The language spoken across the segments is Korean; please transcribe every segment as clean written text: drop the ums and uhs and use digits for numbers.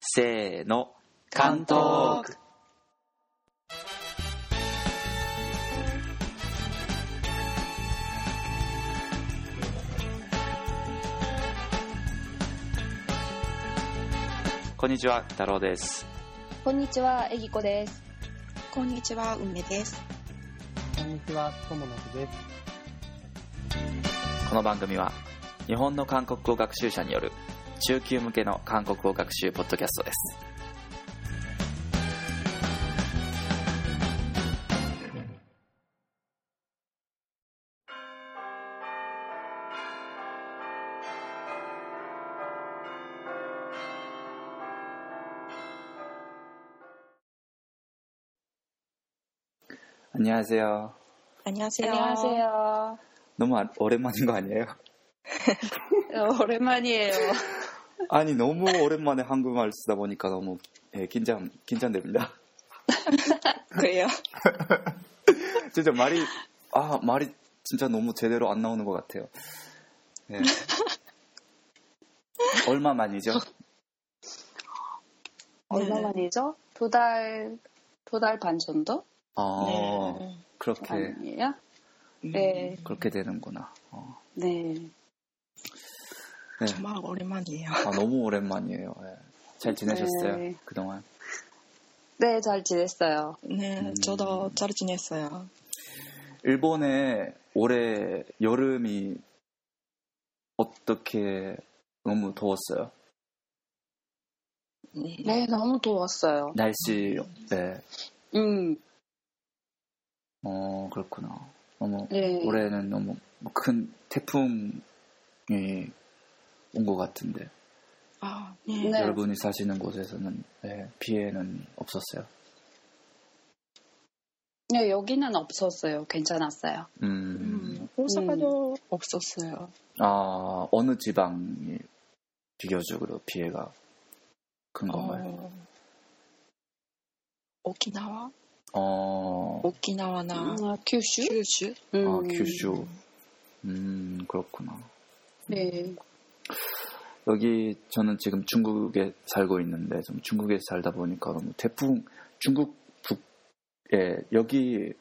せーの、関東区。こんにちは、太郎です。 こんにちは、えぎこです。 こんにちは、梅です。 こんにちは、とものすです。 この番組は日本の韓国語学習者による中級向けの韓国語学習ポッドキャストです。안녕하세요. 안녕하세요. 안녕하세요. 너무 오랜만인 거 아니에요? 오랜만이에요. 아니 너무 오랜만에 한국말 쓰다 보니까 너무 긴장됩니다. 그래요? 진짜 말이 진짜 너무 제대로 안 나오는 것 같아요. 네. 얼마 만이죠? 얼마 만이죠? 두 달 반 정도? 네. 그렇게 아니에요? 네. 그렇게 되는구나. 네. 네. 정말 오랜만이에요. 너무 오랜만이에요. 네. 잘 지내셨어요? 네. 그동안? 네, 잘 지냈어요. 네, 저도 잘 지냈어요. 일본에 올해 여름이 어떻게 너무 더웠어요? 네, 너무 더웠어요. 날씨, 네. 그렇구나. 너무 네. 올해는 너무 큰 태풍이 온 것 같은데. 네. 네. 여러분이 사시는 곳에서는 피해는 없었어요? 네, 여기는 없었어요. 괜찮았어요. 오사카도 없었어요. 어느 지방이 비교적으로 피해가 큰 건가요? 오키나와? 오키나와나 규슈? 규슈? 규슈. 그렇구나. 네. 여기 저는 지금 중국에 살고 있는데 좀 중국에 살다 보니까 너무 태풍 중국 북에 여기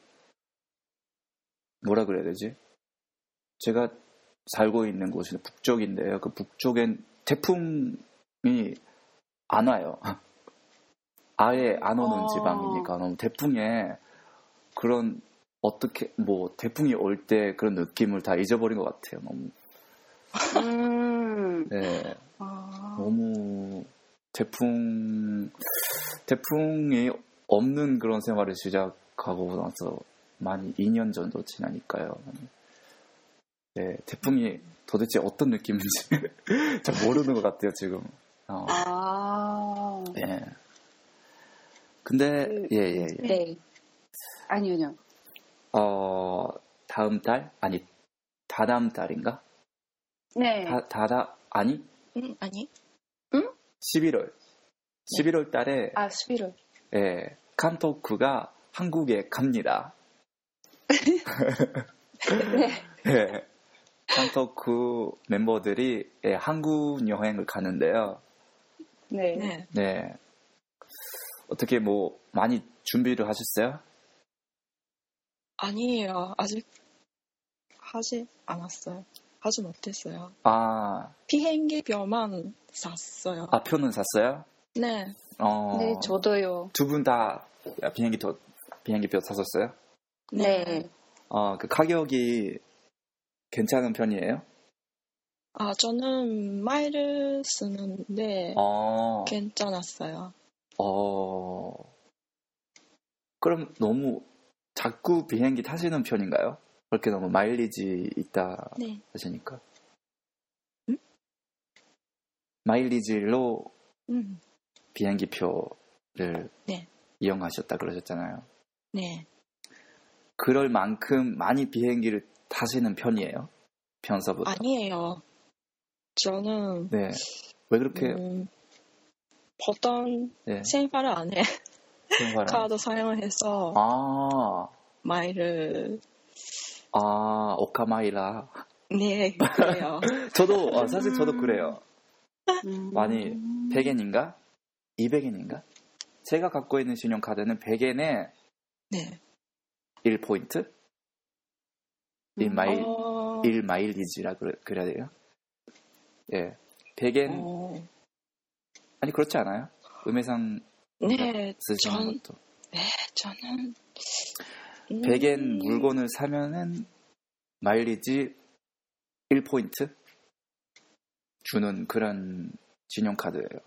뭐라 그래야 되지? 제가 살고 있는 곳은 북쪽인데요. 그 북쪽엔 태풍이 안 와요. 아예 안 오는 지방이니까 너무 태풍에 그런 어떻게 뭐 태풍이 올 때 그런 느낌을 다 잊어버린 것 같아요. 너무. 네. 너무 태풍이 없는 그런 생활을 시작하고 나서 많이 2년 정도 지나니까요. 네, 태풍이 도대체 어떤 느낌인지 잘 모르는 것 같아요 지금. 네. 근데 예. 네. 아니요. 다음 달 아니 다다음 달인가? 네. 아니? 아니? 11월 달에 11월. 예, 칸토크가 한국에 갑니다. 네. 예, 칸토크 멤버들이 한국 여행을 가는데요. 네. 네. 어떻게 뭐 많이 준비를 하셨어요? 아니에요. 아직 하지 않았어요. 하지 못했어요. 비행기 표만 샀어요. 표는 샀어요? 네. 네, 저도요. 두 분 다 비행기표 샀었어요? 네. 그 가격이 괜찮은 편이에요? 저는 마일을 쓰는데 괜찮았어요. 그럼 너무 자꾸 비행기 타시는 편인가요? 그렇게 너무 마일리지 있다 하시니까. 마일리지로 비행기표를 이용하셨다 그러셨잖아요. 네. 그럴 만큼 많이 비행기를 타시는 편이에요? 평소부터? 아니에요. 저는 왜 그렇게 보통 생활 안에 카드 사용을 해서 마일을 오카마이라. 네, 그래요. 사실 저도 그래요. 많이 100엔인가? 200엔인가? 제가 갖고 있는 신용카드는 100엔에 네. 1포인트? 1마일리지라 그래야 돼요? 예. 100엔. 아니, 그렇지 않아요? 음해상 네, 쓰시는 것도. 네, 저는 100엔 물건을 사면은 마일리지 1포인트 주는 그런 신용카드예요.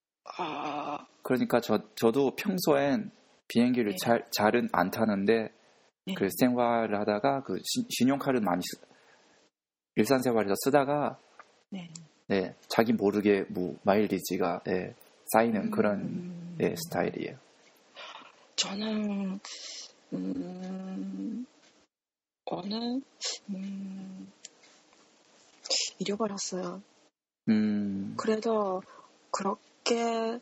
그러니까 저도 평소엔 비행기를 네. 잘은 안 타는데 네. 그 생활을 하다가 그 신용카드를 많이 일상생활에서 쓰다가 네, 자기 모르게 뭐 마일리지가 쌓이는 그런 스타일이에요. 저는 오늘 잃어버렸어요. 그래도 그렇게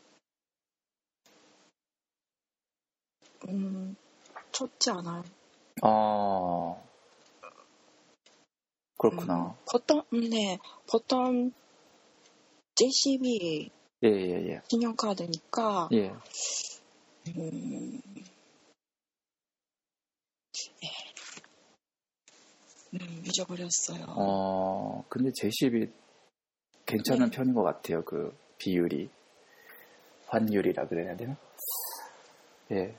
좋지 않아요. 그렇구나. 보통 JCB 예. 신용카드니까 예. 잊어버렸어요. 근데 JCB 괜찮은 편인 것 같아요. 그 비율이 환율이라 그래야 되나? 예.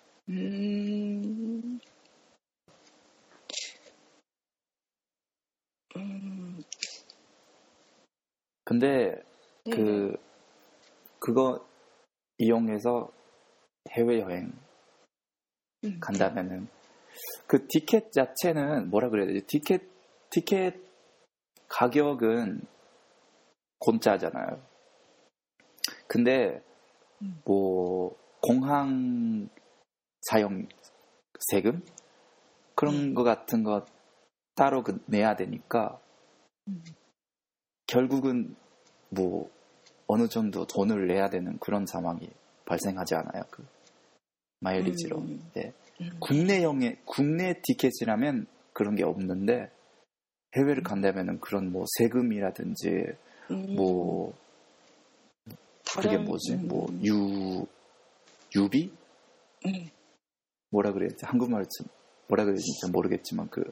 근데 그거 이용해서 해외여행 간다면은 그 티켓 자체는 뭐라 그래야 되지? 티켓 가격은 공짜잖아요. 근데 뭐 공항 사용 세금 그런 거 같은 거 따로 내야 되니까 결국은 뭐 어느 정도 돈을 내야 되는 그런 상황이 발생하지 않아요. 그 마일리지로. 네. 국내 티켓이라면 그런 게 없는데 해외를 간다면은 그런 뭐 세금이라든지 뭐 그게 뭐지? 뭐 유비? 뭐라 그래야지? 한국말로 뭐라 그래야지 모르겠지만 그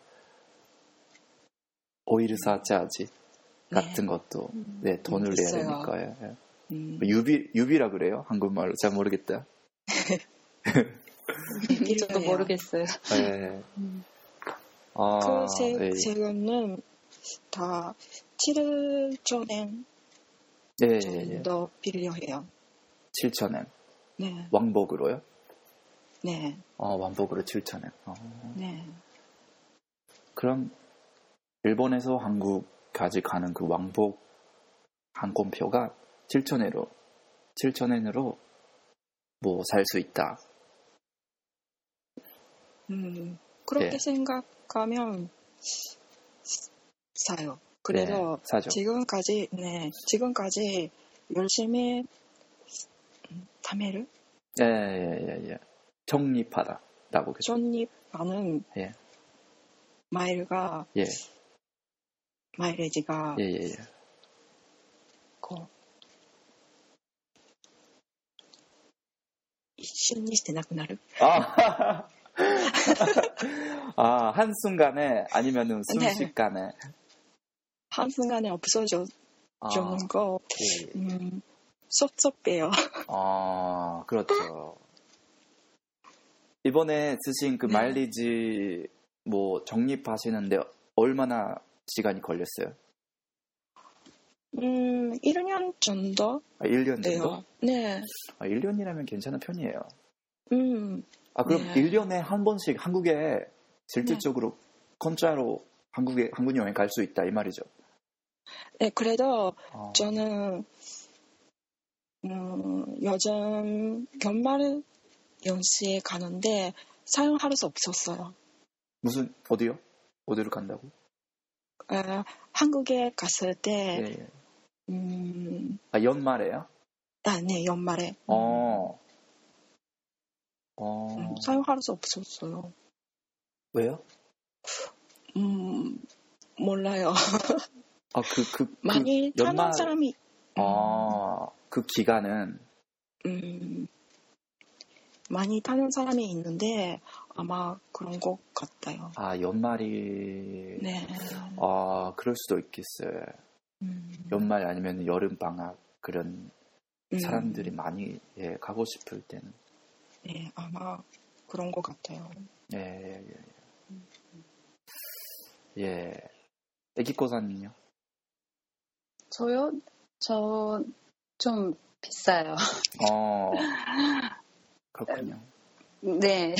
오일 사차지 같은 것도 돈을 내야 되니까요. 유비라 그래요? 한국말로 잘 모르겠다. 저도 모르겠어요. 네. 그 세금은 다 7,000엔 정도 필요해요. 7,000엔. 네. 왕복으로요? 네. 왕복으로 7,000엔. 네. 그럼 일본에서 한국까지 가는 그 왕복 항공표가 7,000엔으로 뭐 살 수 있다. 그렇게 생각하면 사요. 그래도 사죠. 지금까지 열심히 타메를 적립하다라고 적립하는 마일가 마일리지가一瞬にしてなくなる. 한순간에 아니면은 순식간에. 한순간에 없어져 주는 거 섭섭해요. 그렇죠. 이번에 쓰신 그 마일리지 뭐 적립하시는데 얼마나 시간이 걸렸어요? 1년 정도? 1년 정도? 네. 1년이라면 괜찮은 편이에요. 그럼 1년에 한 번씩 한국에 실질적으로 공짜로 한국 여행 갈 수 있다 이 말이죠. 네, 그래도 저는 요즘 연말 연시에 가는데 사용할 수 없었어요. 어디요? 어디로 간다고? 한국에 갔을 때 연말에요? 네, 연말에. 사용할 수 없었어요. 왜요? 몰라요. 그 많이 타는 사람이. 그 기간은 많이 타는 사람이 있는데 아마 그런 것 같아요. 아, 연말이. 네. 아, 그럴 수도 있겠어요. 연말 아니면 여름 방학 그런 사람들이 많이 가고 싶을 때는. 네, 아마 그런 것 같아요. 예. 예. 애기꼬사님요? 저요? 저 좀 비싸요. 그렇군요. 네.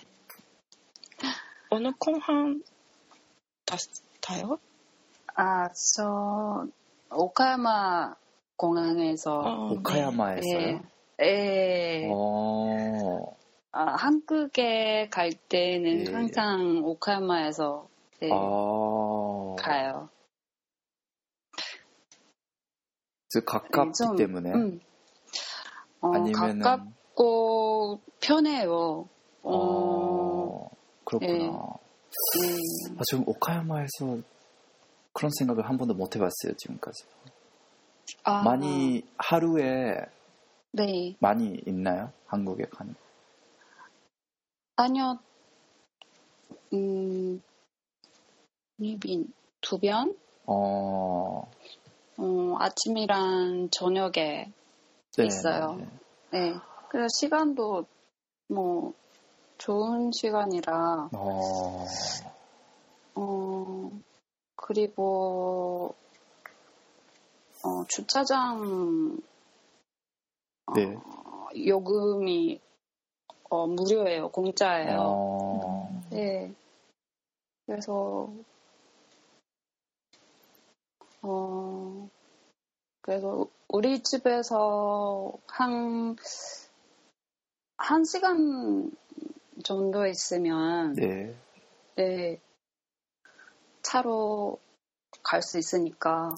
어느 공항 타요? 아, 저 오카야마 공항에서. 오카야마에서요? 예. 한국에 갈 때는 항상 오카야마에서 가요. 가깝기 때문에? 아니면은 가깝고 편해요. 그렇구나. 지금 오카야마에서 그런 생각을 한 번도 못 해봤어요, 지금까지. 많이 하루에 많이 있나요? 한국에 가는? 아니요. 2번? 아침이랑 저녁에 있어요. 네. 그래서 시간도 뭐 좋은 시간이라. 그리고 주차장 요금이 무료예요. 공짜예요. 네. 그래서 우리 집에서 한 시간 정도 있으면 차로 갈 수 있으니까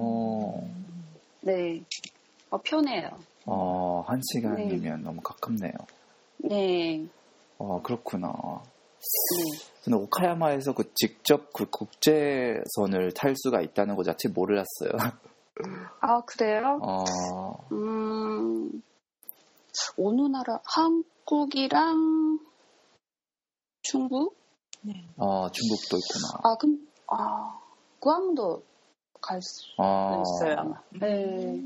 편해요. 한 시간이면 너무 가깝네요. 네. 그렇구나. 저는 오카야마에서 직접 국제선을 탈 수가 있다는 것 자체 몰랐어요. 아, 그래요? 어느 나라? 한국이랑 중국? 네. 중국도 있구나. 구암도 갈 수 있어요, 아마. 네.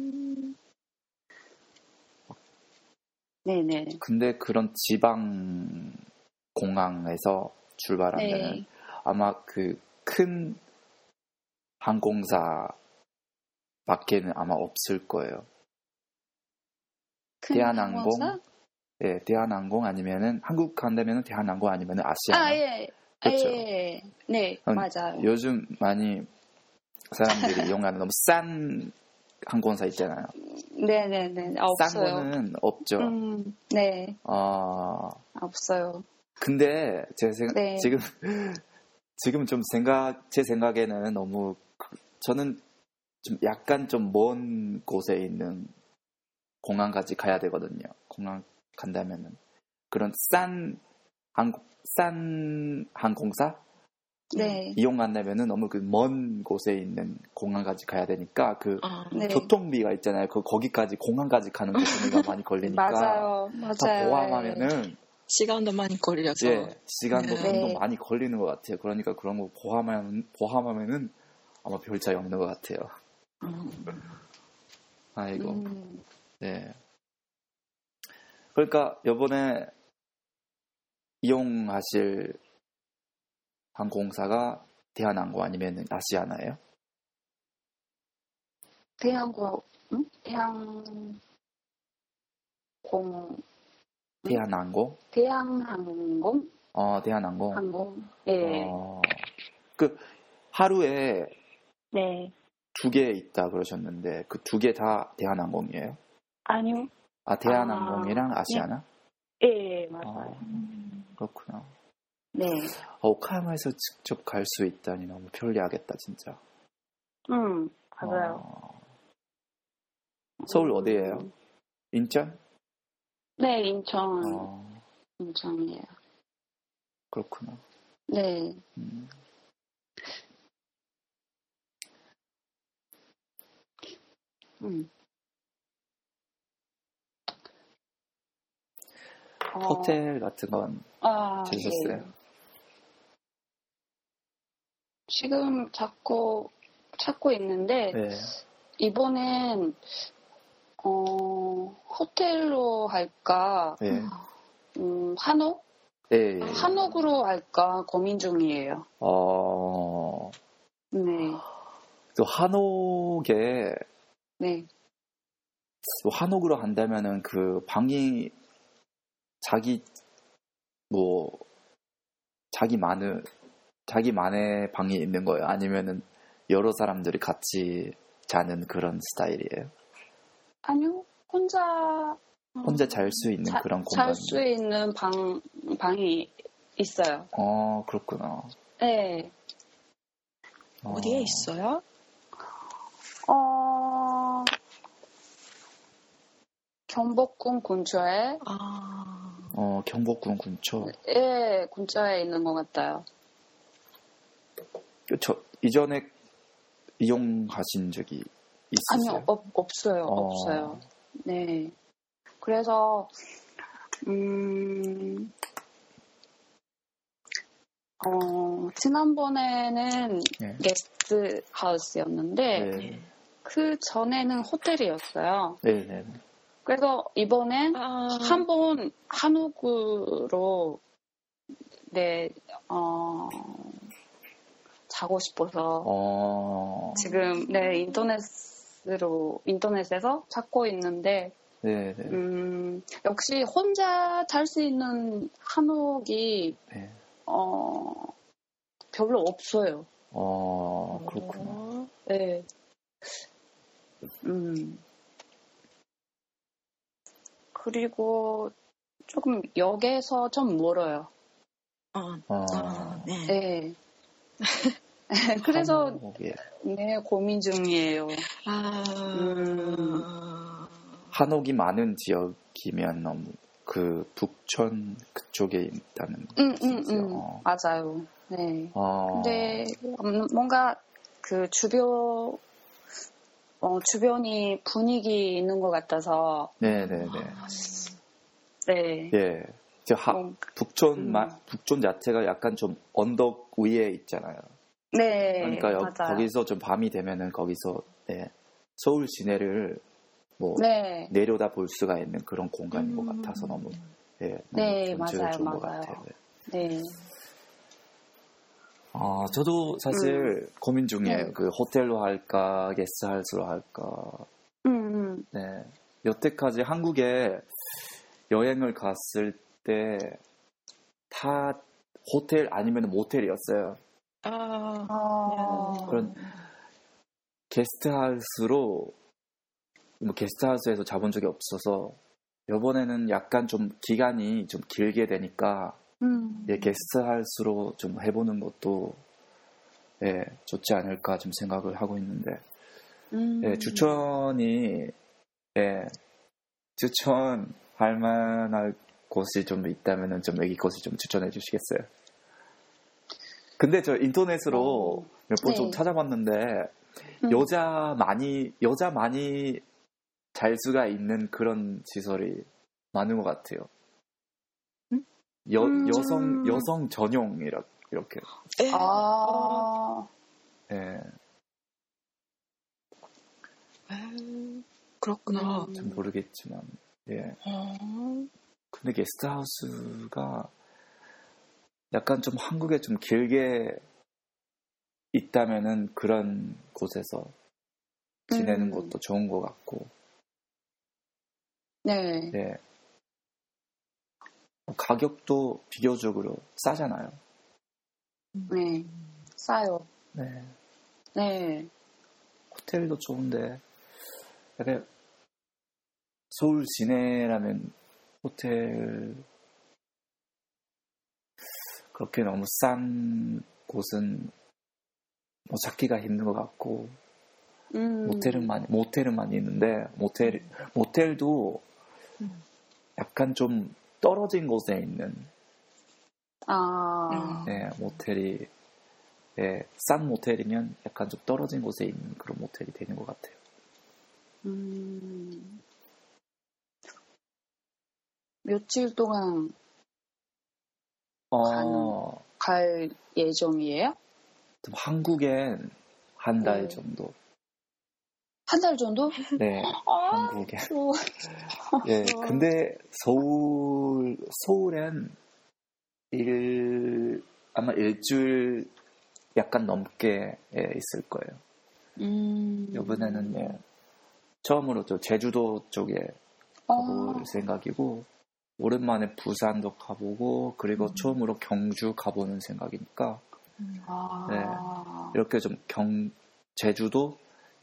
네네. 근데 그런 지방 공항에서 출발하면 아마 그 큰 항공사 밖에는 아마 없을 거예요. 대한항공? 네, 대한항공 아니면은 한국 간다면은 대한항공 아니면은 아시아나. 그렇죠. 네, 맞아요. 요즘 많이 사람들이 이용하는 너무 싼 항공사 있잖아요. 네네네. 없어요. 싼 거는 없죠. 네. 없어요. 근데 지금 좀 제 생각에는 너무 저는 좀 약간 좀 먼 곳에 있는 공항까지 가야 되거든요. 공항 간다면은 그런 싼 항공사 이용한다면은 너무 그 먼 곳에 있는 공항까지 가야 되니까 교통비가 있잖아요. 거기까지 공항까지 가는 교통비가 많이 걸리니까 맞아요. 다 포함하면은 시간도 많이 걸려서 시간도 돈도 많이 걸리는 것 같아요. 그러니까 그런 거 포함하면은 아마 별 차이 없는 것 같아요. 아이고. 네. 그러니까 이번에 이용하실 항공사가 대한항공 아니면 아시아나예요? 대한항공. 대한항공? 대한항공? 대한항공. 항공. 예. 그 하루에 네. 2개 있다 그러셨는데 그 2개 다 대한항공이에요? 아니요. 대한항공이랑 아시아나? 예, 맞아요. 그렇구나. 네. 오카야마에서 직접 갈 수 있다니 너무 편리하겠다 진짜. 맞아요. 서울 어디예요? 인천? 네, 인천. 인천이에요. 그렇구나. 네. 호텔 같은 건 찾으셨어요? 네. 지금 찾고 있는데, 네. 이번엔, 호텔로 할까, 네. 한옥? 네. 한옥으로 할까 고민 중이에요. 네. 또 한옥에, 네. 또 한옥으로 한다면은 그 방이 자기만의 방이 있는 거예요? 아니면은 여러 사람들이 같이 자는 그런 스타일이에요? 아니요, 혼자 잘 수 있는 그런 공간이? 잘 수 있는 방이 있어요. 그렇구나. 네. 어디에 있어요? 경복궁 근처에. 경복궁 근처? 예, 근처에 있는 것 같아요. 이전에 이용하신 적이 있으세요? 아니요, 없어요. 네. 그래서, 지난번에는 네. 게스트 하우스였는데, 네. 그 전에는 호텔이었어요. 네. 그래서 이번엔 한번 한옥으로, 자고 싶어서, 지금, 인터넷에서 찾고 있는데, 네. 역시 혼자 잘 수 있는 한옥이, 네. 별로 없어요. 그렇구나. 네. 그리고 조금 역에서 좀 멀어요. 네. 네. 그래서 한옥에. 네, 고민 중이에요. 한옥이 많은 지역이면 너무 그 북촌 그쪽에 있다는 뜻이죠. 맞아요. 네. 근데 뭔가 그 주변이 분위기 있는 것 같아서. 네. 네. 예. 북촌 자체가 약간 좀 언덕 위에 있잖아요. 네. 그러니까 맞아요. 거기서 좀 밤이 되면은 거기서 서울 시내를 내려다 볼 수가 있는 그런 공간인 것 같아서 너무 좋은 것 같아요. 네. 저도 사실 고민 중이에요. 그 호텔로 할까, 게스트하우스로 할까. 네. 여태까지 한국에 여행을 갔을 때 다 호텔 아니면 모텔이었어요. 그런 게스트하우스로 게스트하우스에서 자본 적이 없어서 이번에는 약간 좀 기간이 좀 길게 되니까 게스트하우스로 좀 해보는 것도 좋지 않을까 좀 생각을 하고 있는데 추천할 만한 곳이 좀 있다면은 좀 여기 곳을 좀 추천해 주시겠어요? 근데 저 인터넷으로 몇 번 좀 찾아봤는데 여자 많이 잘 수가 있는 그런 시설이 많은 것 같아요. 여성 전용이라 이렇게. 그렇구나. 잘 모르겠지만, 근데 게스트하우스가 약간 좀 한국에 좀 길게 있다면은 그런 곳에서 지내는 것도 좋은 것 같고. 네. 가격도 비교적으로 싸잖아요. 네. 싸요. 네. 호텔도 좋은데, 약간 서울 시내라면 호텔 그렇게 너무 싼 곳은 찾기가 힘든 것 같고 모텔은 많이 있는데 모텔도 약간 좀 떨어진 곳에 있는 모텔이 싼 모텔이면 약간 좀 떨어진 곳에 있는 그런 모텔이 되는 것 같아요. 며칠 동안 갈 예정이에요? 한국엔 한 달 정도. 한 달 정도? 네, 한국에. 예, 근데 서울엔 아마 일주일 약간 넘게 있을 거예요. 이번에는 예, 처음으로 저 제주도 쪽에 가볼 생각이고, 오랜만에 부산도 가보고, 그리고 처음으로 경주 가보는 생각이니까, 네, 이렇게 좀 제주,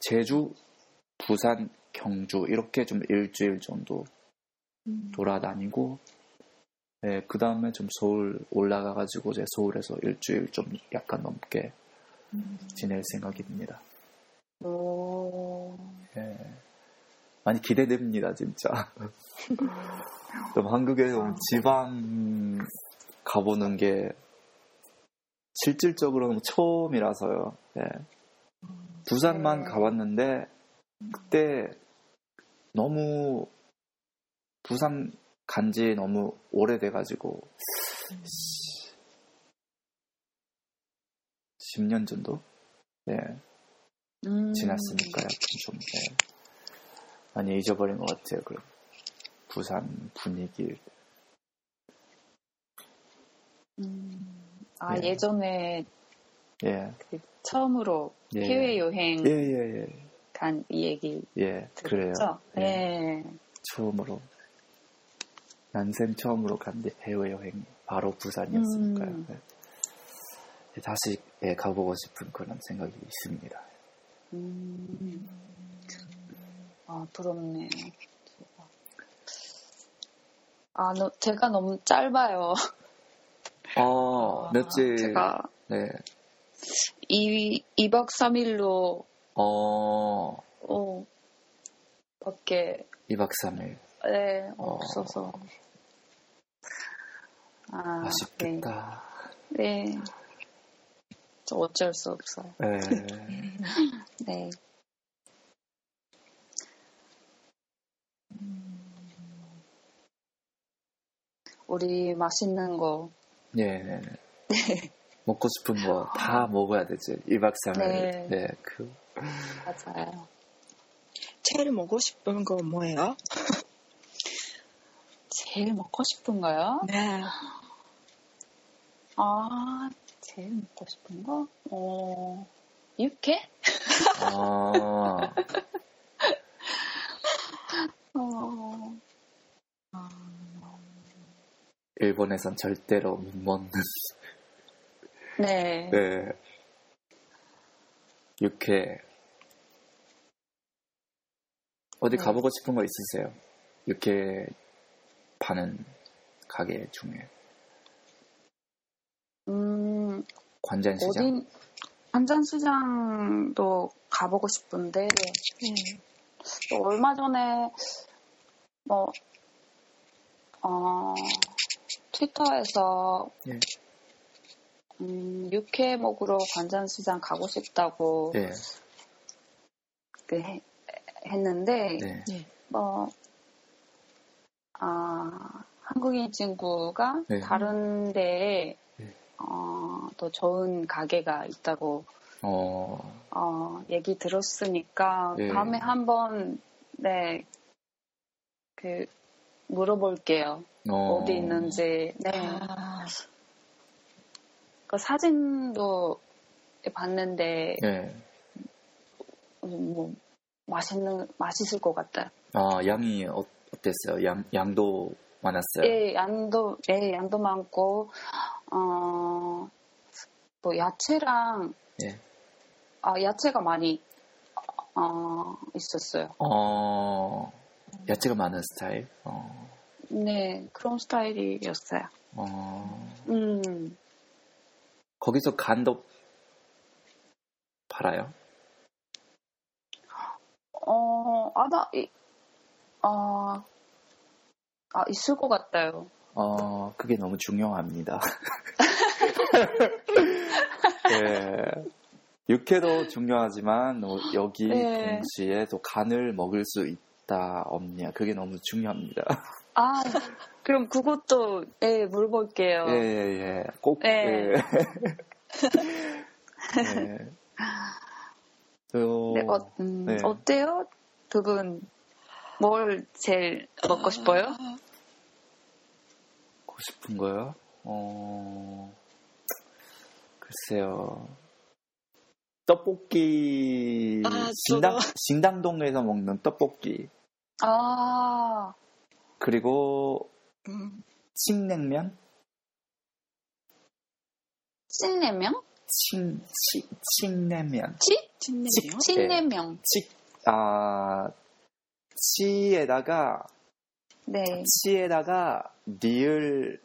부산, 경주 이렇게 좀 일주일 정도 돌아다니고, 네, 그 다음에 좀 서울 올라가가지고 이제 서울에서 일주일 좀 약간 넘게 지낼 생각입니다. 네, 많이 기대됩니다, 진짜. 좀 한국에 지방 가보는 게 실질적으로는 처음이라서요. 네. 부산만 가봤는데 그때 너무 부산 간지 너무 오래돼가지고 10년 정도 지났으니까 약간 좀 많이 잊어버린 것 같아요. 그럼 부산 분위기. 예전에 그 처음으로 해외 여행 간 얘기 그래요. 네. 처음으로 난생 처음으로 간 해외 여행 바로 부산이었으니까요. 다시 가보고 싶은 그런 생각이 있습니다. 부럽네. 제가 너무 짧아요. 며칠? 제가 2박 3일로 밖에 2박 3일 없어서 아쉽겠다. 네. 저 어쩔 수 없어요. 네. 우리 맛있는 거 먹고 싶은 거 다 먹어야 되지. 2박 3일. 네. 맞아요. 제일 먹고 싶은 거 뭐예요? 제일 먹고 싶은 거요? 네. 제일 먹고 싶은 거? 육회? 일본에선 절대로 못 먹는. 네. 육회. 어디 가보고 싶은 거 있으세요? 육회 파는 가게 중에. 관전시장? 관전시장도 가보고 싶은데, 얼마 전에, 트위터에서, 육회 먹으러 관전시장 가고 싶다고, 했는데, 한국인 친구가 다른 데에 더 좋은 가게가 있다고 얘기 들었으니까 다음에 한번 물어볼게요. 어디 있는지. 그 사진도 봤는데 맛있을 것 같아요. 양이 어땠어요? 양도 많았어요? 양도 많고, 또 야채랑, 야채가 많이, 있었어요. 야채가 많은 스타일? 네, 그런 스타일이었어요. 거기서 간도 팔아요? 있을 것 같아요. 그게 너무 중요합니다. 육회도 중요하지만 여기 동시에 또 간을 먹을 수 있다 없냐 그게 너무 중요합니다. 아, 그럼 그것도, 예, 물어볼게요. 예. 꼭, 네. 예. 네. 네, 어때요? 두 분, 뭘 제일 먹고 싶어요? 먹고 싶은 거요? 글쎄요. 떡볶이, 신당동에서 먹는 떡볶이. 아, 그리고, 칡냉면? 찐냉면? 칡냉면. 찐냉면? 찐냉면. 치에다가, 네. 치에다가, 리을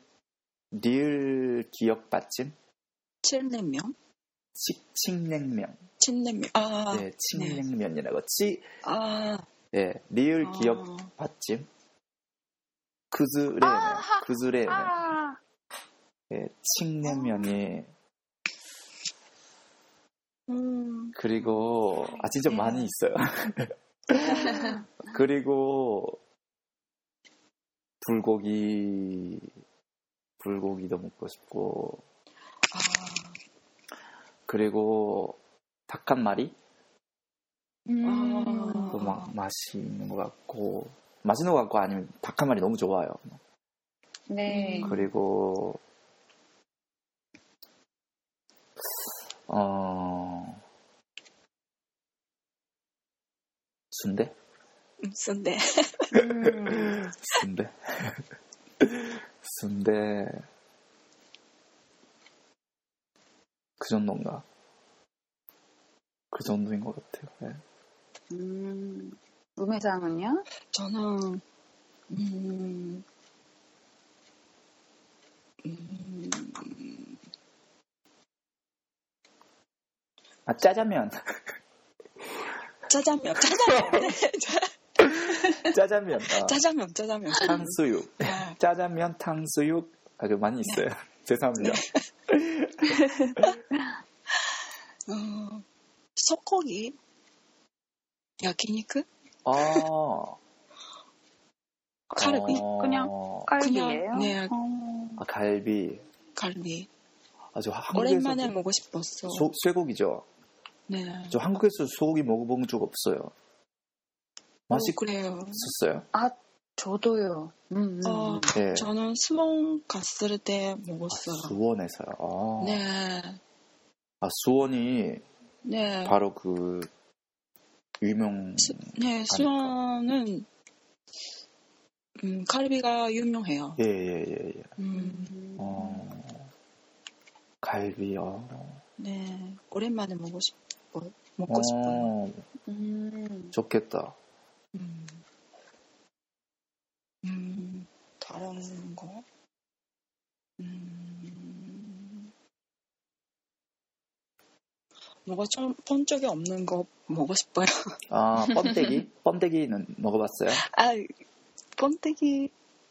기억 받침? 칠냉면? 칡냉면. 찐냉면. 네, 칡냉면이라고. 네. 리을 기억 받침? 그즈레면. 네, 칡냉면이. 그리고, 진짜 많이 있어요. 그리고, 불고기도 먹고 싶고, 그리고, 닭 한 마리? 또 막 맛있는 것 같고, 아니면 닭 한 마리 너무 좋아요. 네. 그리고, 순대? 순대. 순대. 그 정도인가? 그 정도인 것 같아요. 네. 우메상은요? 저는, 짜장면. 짜장면. 탕수육. 짜장면, 탕수육. 아주 많이 있어요. 죄송합니다. 소고기? 야키니크? 칼비? 그냥 칼비예요? 네. 갈비. 아주 한국에서 오랜만에 먹고 싶었어. 쇠고기죠. 네. 저 한국에서 소고기 먹어본 적 없어요. 그래요. 맛있었어요? 저도요. 네. 저는 수원 갔을 때 먹었어요. 수원에서요. 네. 수원이 네. 바로 그 유명. 네, 수원은 갈비가 유명해요. 예. 갈비요. 네, 오랜만에 먹고 싶어요. 좋겠다. 다른 거? 뭐가 좀 본 적이 없는 거 먹고 싶어요. 번데기? 번데기는 먹어봤어요? 번데기,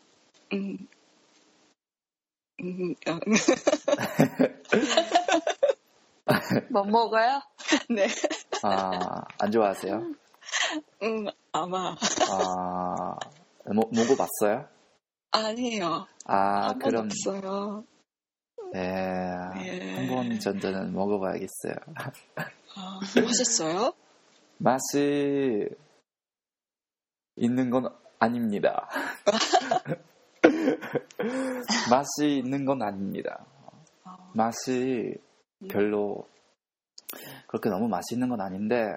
뭐 먹어요? 네. 안 좋아하세요? 아마. 먹어봤어요? 아니에요. 한 번 없어요. 네. 한번 전에는 먹어봐야겠어요. 맛있어요? 맛이 있는 건 아닙니다. 맛이 있는 건 아닙니다. 맛이 별로 그렇게 너무 맛있는 건 아닌데,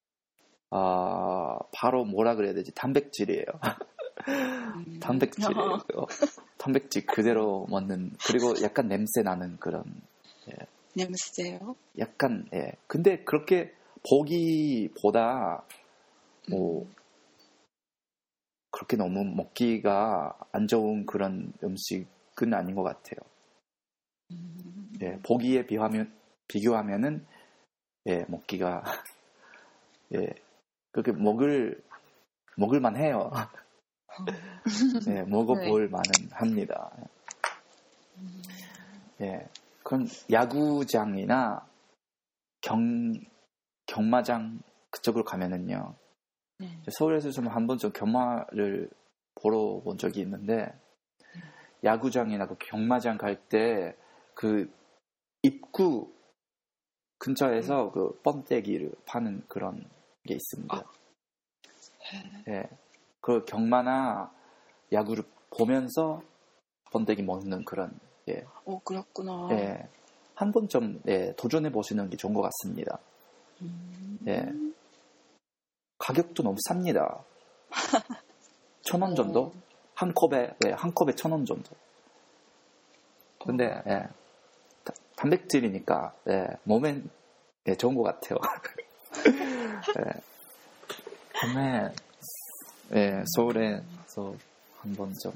바로 뭐라 그래야 되지? 단백질이에요. 단백질이에요. 단백질 그대로 먹는, 그리고 약간 냄새 나는 그런. 예. 냄새요? 약간, 예. 근데 그렇게 보기보다, 그렇게 너무 먹기가 안 좋은 그런 음식은 아닌 것 같아요. 예, 보기에 비교하면은, 예, 먹기가, 예, 그렇게 먹을만 해요. 예, 먹어볼 만은 합니다. 예, 그럼 야구장이나 경마장 그쪽으로 가면은요. 서울에서 좀 한번 좀 경마를 보러 본 적이 있는데 야구장이나 그 경마장 갈 때 그 입구 근처에서 그 번데기를 파는 그런 게 있습니다. 예, 그 경마나 야구를 보면서 번데기 먹는 그런 예, 그렇구나. 예, 한 번 좀 예, 도전해 보시는 게 좋은 것 같습니다. 예, 가격도 너무 쌉니다. 1,000원 정도? 한 컵에 예, 한 컵에 1,000원 정도. 근데 예, 단백질이니까 예, 몸엔 예, 좋은 것 같아요. 예, 다음에 예, 서울에서 한번 좀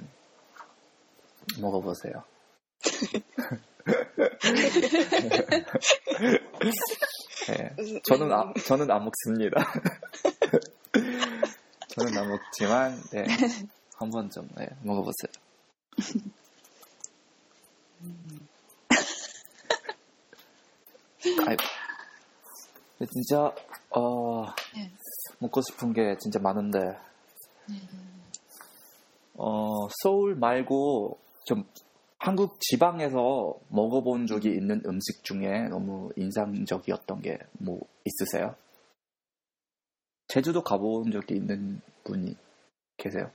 먹어보세요. 예, 저는 안 먹습니다. 저는 안 먹지만 예, 한번 좀 예, 먹어보세요. 아이고. 진짜 먹고 싶은 게 진짜 많은데 서울 말고 좀 한국 지방에서 먹어본 적이 있는 음식 중에 너무 인상적이었던 게 뭐 있으세요? 제주도 가본 적이 있는 분이 계세요?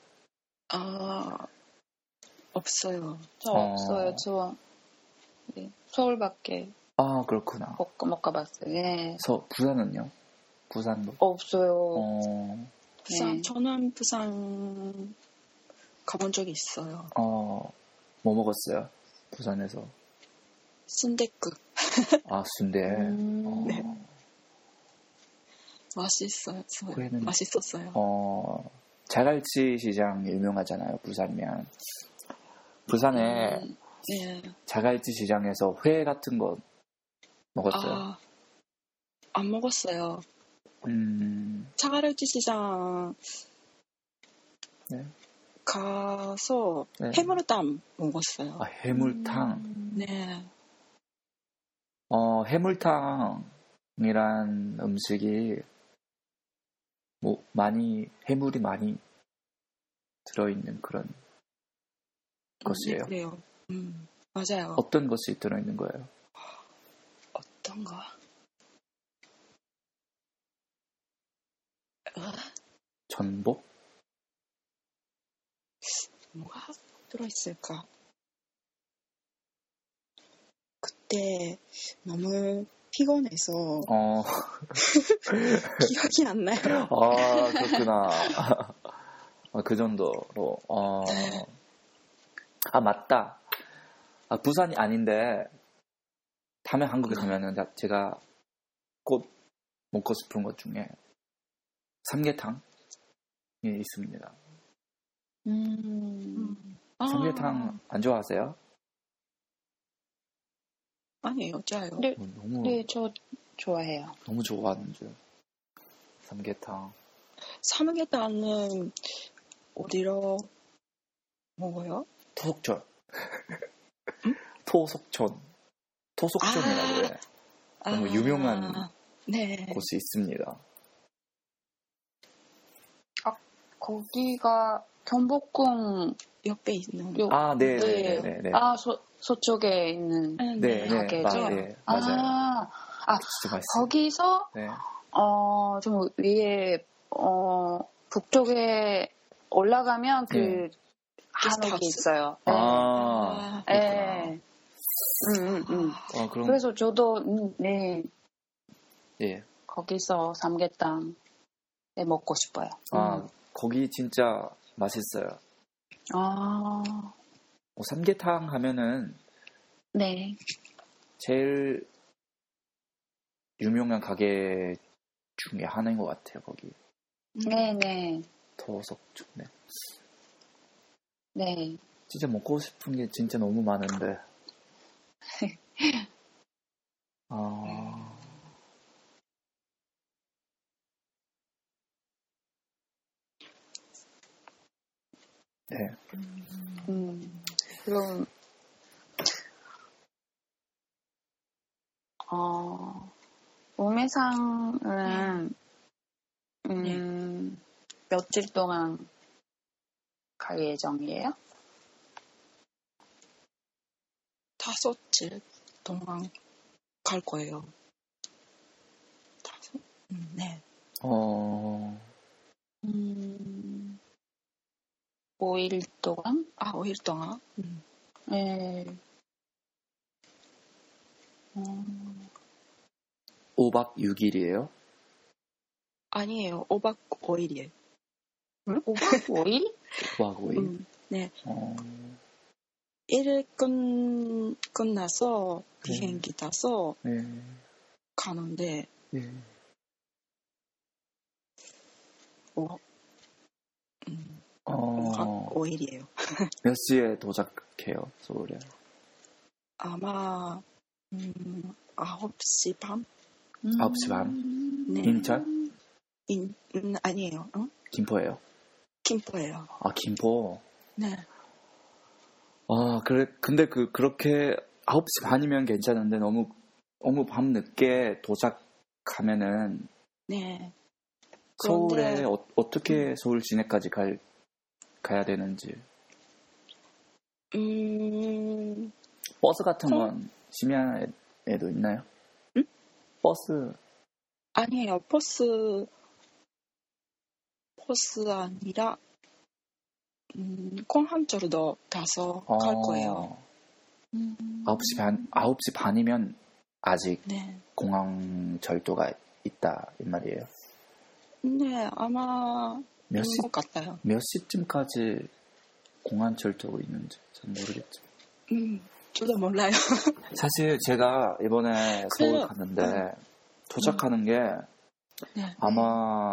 없어요. 저 없어요. 저 네, 서울밖에 아, 그렇구나. 못 가봤어요. 예. 부산은요? 부산도? 없어요. 부산, 네. 저는 부산 가본 적이 있어요. 뭐 먹었어요? 부산에서? 순댓국. 아, 순대. 네. 맛있어요. 거기는, 맛있었어요. 자갈치 시장 유명하잖아요, 부산이면. 부산에 네. 자갈치 시장에서 회 같은 거 먹었어요? 안 먹었어요. 자갈치 시장 네. 가서 네. 해물탕 먹었어요. 아, 해물탕. 네. 해물탕이란 음식이 뭐 해물이 많이 들어있는 그런 것이에요. 네, 그래요. 맞아요. 어떤 것이 들어있는 거예요? 어떤 거? 전복? 뭐가 들어있을까? 그때 너무 피곤해서 기억이 안 나요. 아, 그렇구나. 그 정도로. 아, 맞다. 부산이 아닌데 다음에 한국에 가면은 제가 꼭 먹고 싶은 것 중에 삼계탕이 있습니다. 삼계탕 안 좋아하세요? 아니에요, 좋아요. 네, 저 좋아해요. 너무 좋아하는 줄. 삼계탕. 삼계탕은 어디로 먹어요? 토속촌. 토속촌이라고 해. 너무 유명한 네. 곳이 있습니다. 거기가 경복궁 옆에 있는. 네. 서쪽에 있는 가게죠. 네, 맞아요. 진짜 맛있어요. 거기서 네. 좀 위에 북쪽에 올라가면 그 한옥이 있어요. 네. 그럼 그래서 저도 거기서 삼계탕 먹고 싶어요. 거기 진짜 맛있어요. 삼계탕 하면은 네. 제일 유명한 가게 중에 하나인 것 같아요, 거기. 네네. 토속촌. 네. 진짜 먹고 싶은 게 진짜 너무 많은데. 네. 그럼 우메상은 며칠 동안 갈 예정이에요? 5일 동안 갈 거예요. 5? 네. 5일 동안? 5일 동안? 네. 5박 6일이에요? 아니에요. 5박 5일이에요. 응? 5박 5일? 5박 5일? 네. 어, 1일 끝나서 비행기 타서 네. 가는데, 네. 5박 어, 5일이에요. 몇 시에 도착해요, 서울에? 아마 9시 반? 9시 반? 네. 인천? 아니에요. 김포예요? 김포예요. 아, 김포? 네. 아, 그래, 근데 그렇게 9시 반이면 괜찮은데 너무 밤 늦게 도착하면은 네. 서울에 그런데- 어떻게 서울 시내까지 가야 되는지. 버스 같은 건 심야에도 있나요? 응? 버스. 아니에요. 버스 아니라 공항철도 가서 갈 거예요. 9시 반이면 아직 네. 공항 절도가 있다 이 말이에요. 네, 아마 몇 있는 것 같아요. 몇 시쯤까지 공항 절도가 있는지 잘 모르겠죠. 저도 몰라요. 사실 제가 이번에 서울 그래요. 갔는데 도착하는 게 네. 아마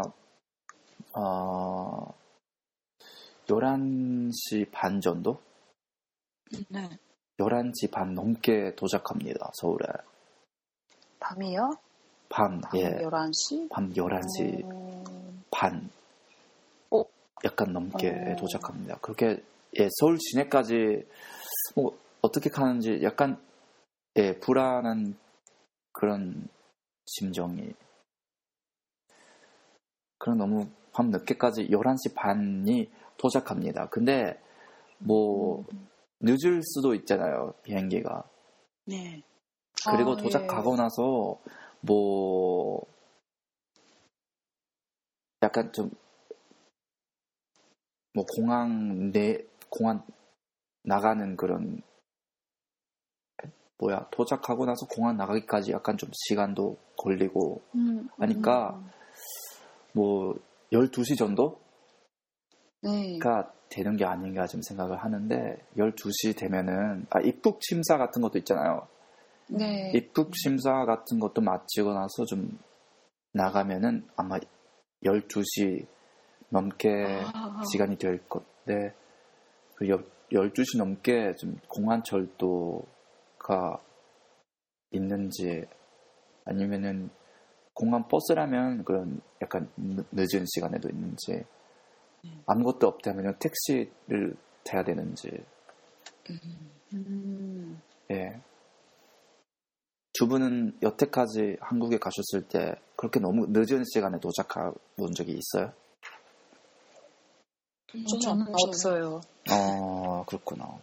11시 반 정도? 네. 11시 반 넘게 도착합니다. 서울에. 밤이요? 밤, 예. 11시? 밤 11시 반. 약간 넘게 도착합니다. 그렇게, 예, 서울 시내까지, 뭐, 어떻게 가는지 약간, 예, 불안한 그런 심정이. 그럼 너무 밤 늦게까지 11시 반이 도착합니다. 근데, 뭐, 늦을 수도 있잖아요, 비행기가. 네. 그리고 예. 도착하고 나서, 뭐, 약간 좀, 뭐, 공항 나가는 그런, 도착하고 나서 공항 나가기까지 약간 좀 시간도 걸리고, 하니까, 뭐, 12시 정도가 네. 되는 게 아닌가 좀 생각을 하는데, 12시 되면은, 입국 심사 같은 것도 있잖아요. 네. 입국 심사 같은 것도 마치고 나서 좀 나가면은 아마 12시 넘게 시간이 될 건데, 12시 넘게 좀 공항 철도가 있는지, 아니면은 공항 버스라면 그런 약간 늦은 시간에도 있는지, 아무것도 없다면 택시를 타야 되는지, 예. 두 분은 여태까지 한국에 가셨을 때 그렇게 너무 늦은 시간에 도착해 본 적이 있어요? 저는 없어요. 그렇구나.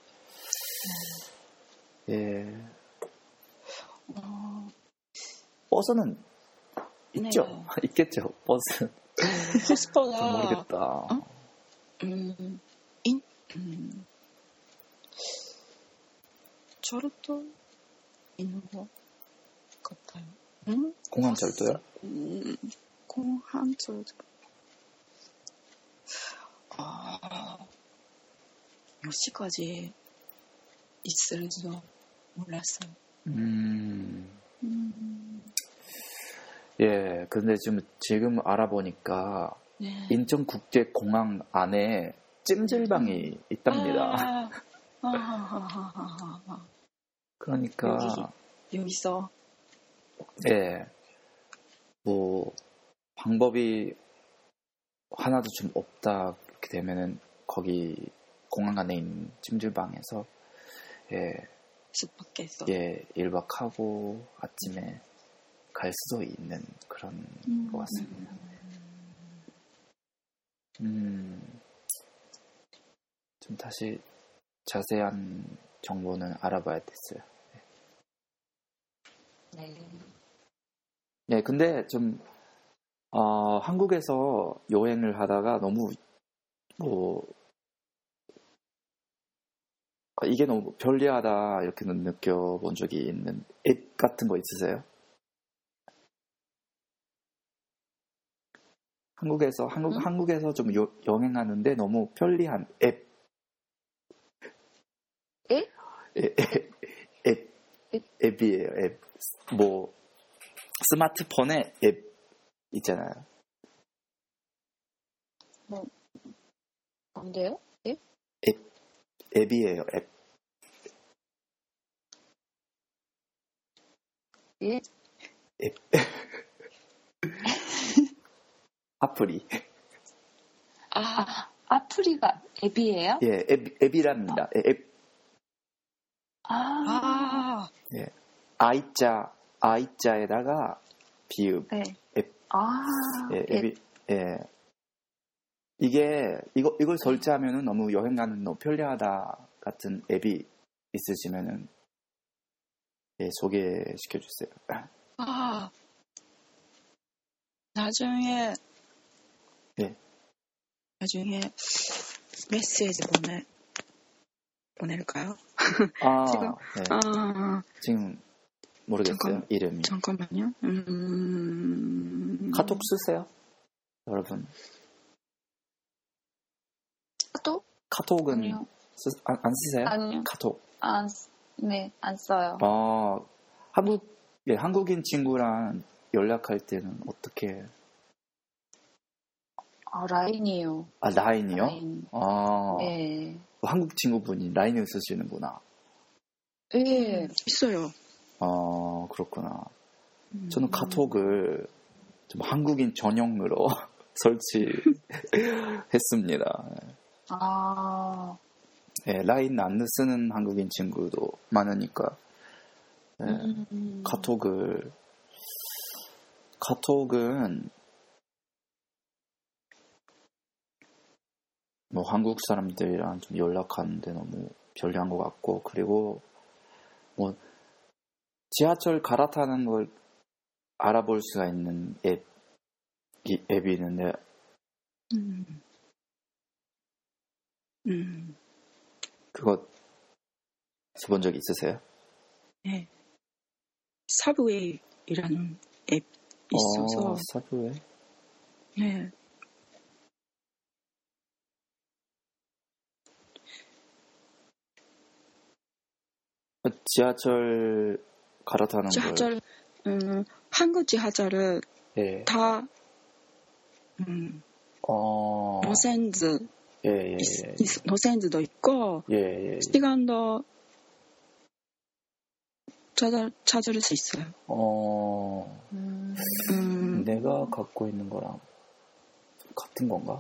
예. 버스는 있죠? 네. 있겠죠, 버스. 버스보다 모르겠다. 저렇도 있는 것 같아요. 공항 절도요? 공항철도 몇 시까지 있을지도 몰랐어요. 예, 근데 지금 알아보니까 네. 인천국제공항 안에 찜질방이 있답니다. 그러니까 여기서 예, 뭐 방법이 하나도 좀 없다 그렇게 되면은 거기 공항 안에 있는 찜질방에서 숙박해서 1박 하고 아침에 갈 수도 있는 그런 것 같습니다. 좀 다시 자세한 정보는 알아봐야 됐어요. 네. 네, 근데 좀 한국에서 여행을 하다가 너무 이게 너무 편리하다 이렇게 느껴본 적이 있는 앱 같은 거 있으세요? 한국에서 좀 여행하는데 너무 편리한 앱. 앱? 앱이에요. 앱. 뭐 스마트폰에 앱 있잖아요. 뭔데요? 앱? 앱이에요. 앱. 예? 앱. 아프리. 아프리가 앱이에요? 예, 앱이랍니다. 앱. 예. 아이자에다가 비읍. 네. 앱. 예, 앱이. 예. 이걸 설치하면은 너무 여행 가는 너무 편리하다 같은 앱이 있으시면은 예, 소개시켜 주세요. 나중에 예. 나중에 메시지 보낼까요? 지금 네. 아 지금 모르겠어요. 이름이. 잠깐만요. 카톡 쓰세요? 여러분. 카톡은 아니요. 안 쓰세요? 아니요. 카톡. 네, 안 써요. 한국인 친구랑 연락할 때는 어떻게? 라인이요. 라인이요? 라인. 네. 한국 친구분이 라인을 쓰시는구나. 네. 있어요. 그렇구나. 저는 카톡을 좀 한국인 전용으로 설치했습니다. 네, 라인 안 쓰는 한국인 친구도 많으니까. 네, 카톡은 뭐 한국 사람들이랑 좀 연락하는데 너무 편리한 것 같고, 그리고 뭐 지하철 갈아타는 걸 알아볼 수가 있는 앱이 있는데 그거 써본 적 있으세요? 네. 사브웨이라는 앱 있어서. 사브웨이? 네. 지하철 갈아타는 걸. 한국 지하철은 예. 다 노센즈도 있고 시간도 찾을 수 있어요. 내가 갖고 있는 거랑 같은 건가?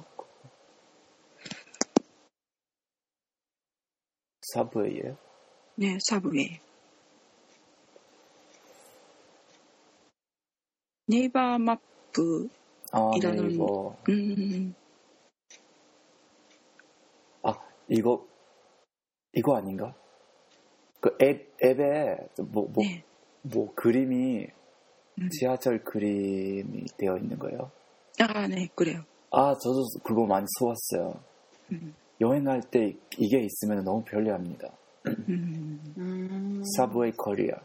사브웨이예요? 네, 사브웨이. 네이버 마프 이라는 네이버. 이거 아닌가? 그 앱에 뭐 그림이 지하철 그림이 되어 있는 거예요? 네, 그래요. 저도 그거 많이 써왔어요. 여행할 때 이게 있으면 너무 편리합니다. 사브웨이 코리아.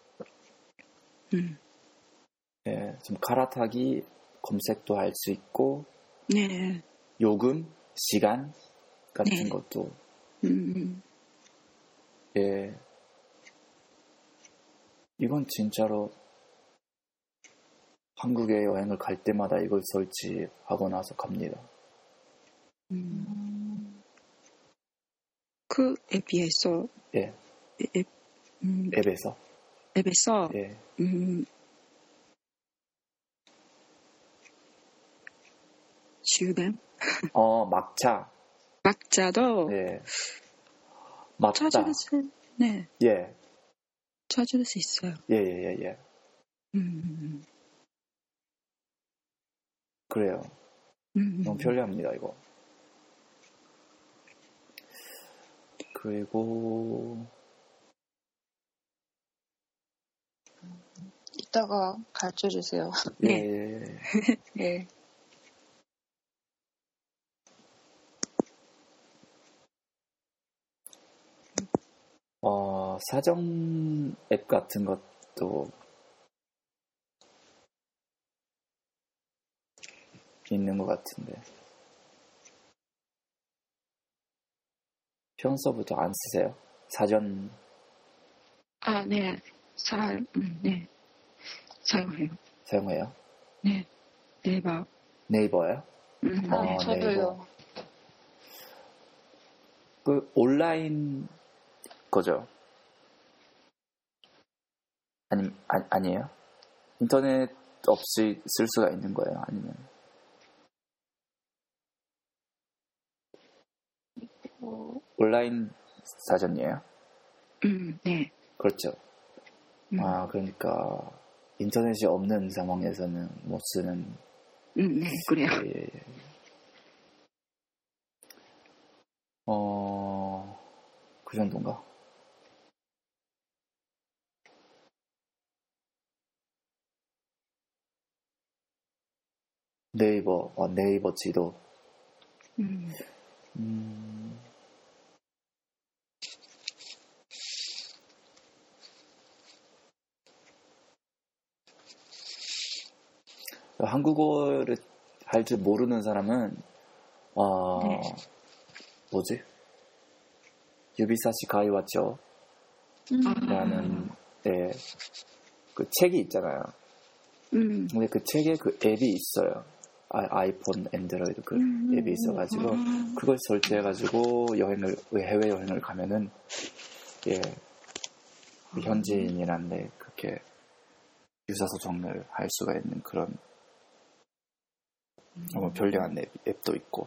네, 좀 갈아타기 검색도 할 수 있고, 네. 요금, 시간 같은 것도. 예. 이건 진짜로 한국에 여행을 갈 때마다 이걸 설치하고 나서 갑니다. 그 앱에서 예. 앱에서 예. 주변 막자도 예. 맞다. 찾을 수 찾을 수 있어요. 예. 그래요. 너무 편리합니다, 이거. 그리고 이따가 가르쳐 주세요. 네. 네. 사정 앱 같은 것도 있는 것 같은데 평소부터 안 쓰세요? 사전 아, 네. 네. 사용해요? 네. 네이버. 네이버요? 네, 저도요. 네이버. 그 온라인 거죠? 아니에요? 인터넷 없이 쓸 수가 있는 거예요? 아니면 온라인 사전이에요? 네. 그렇죠. 그러니까 인터넷이 없는 상황에서는 못 쓰는. 네, 그래요. 예. 그 정도인가? 네이버 지도. 한국어를 할 줄 모르는 사람은 네. 뭐지? 유비사시 가이와죠 라는 그 책이 있잖아요. 근데 그 책에 그 앱이 있어요. 아이폰, 엔드로이드 그 앱이 있어가지고 그걸 설치해가지고 해외 여행을 가면은 그 현지인이란데 그렇게 유사소통을 할 수가 있는 그런 편리한 앱도 있고.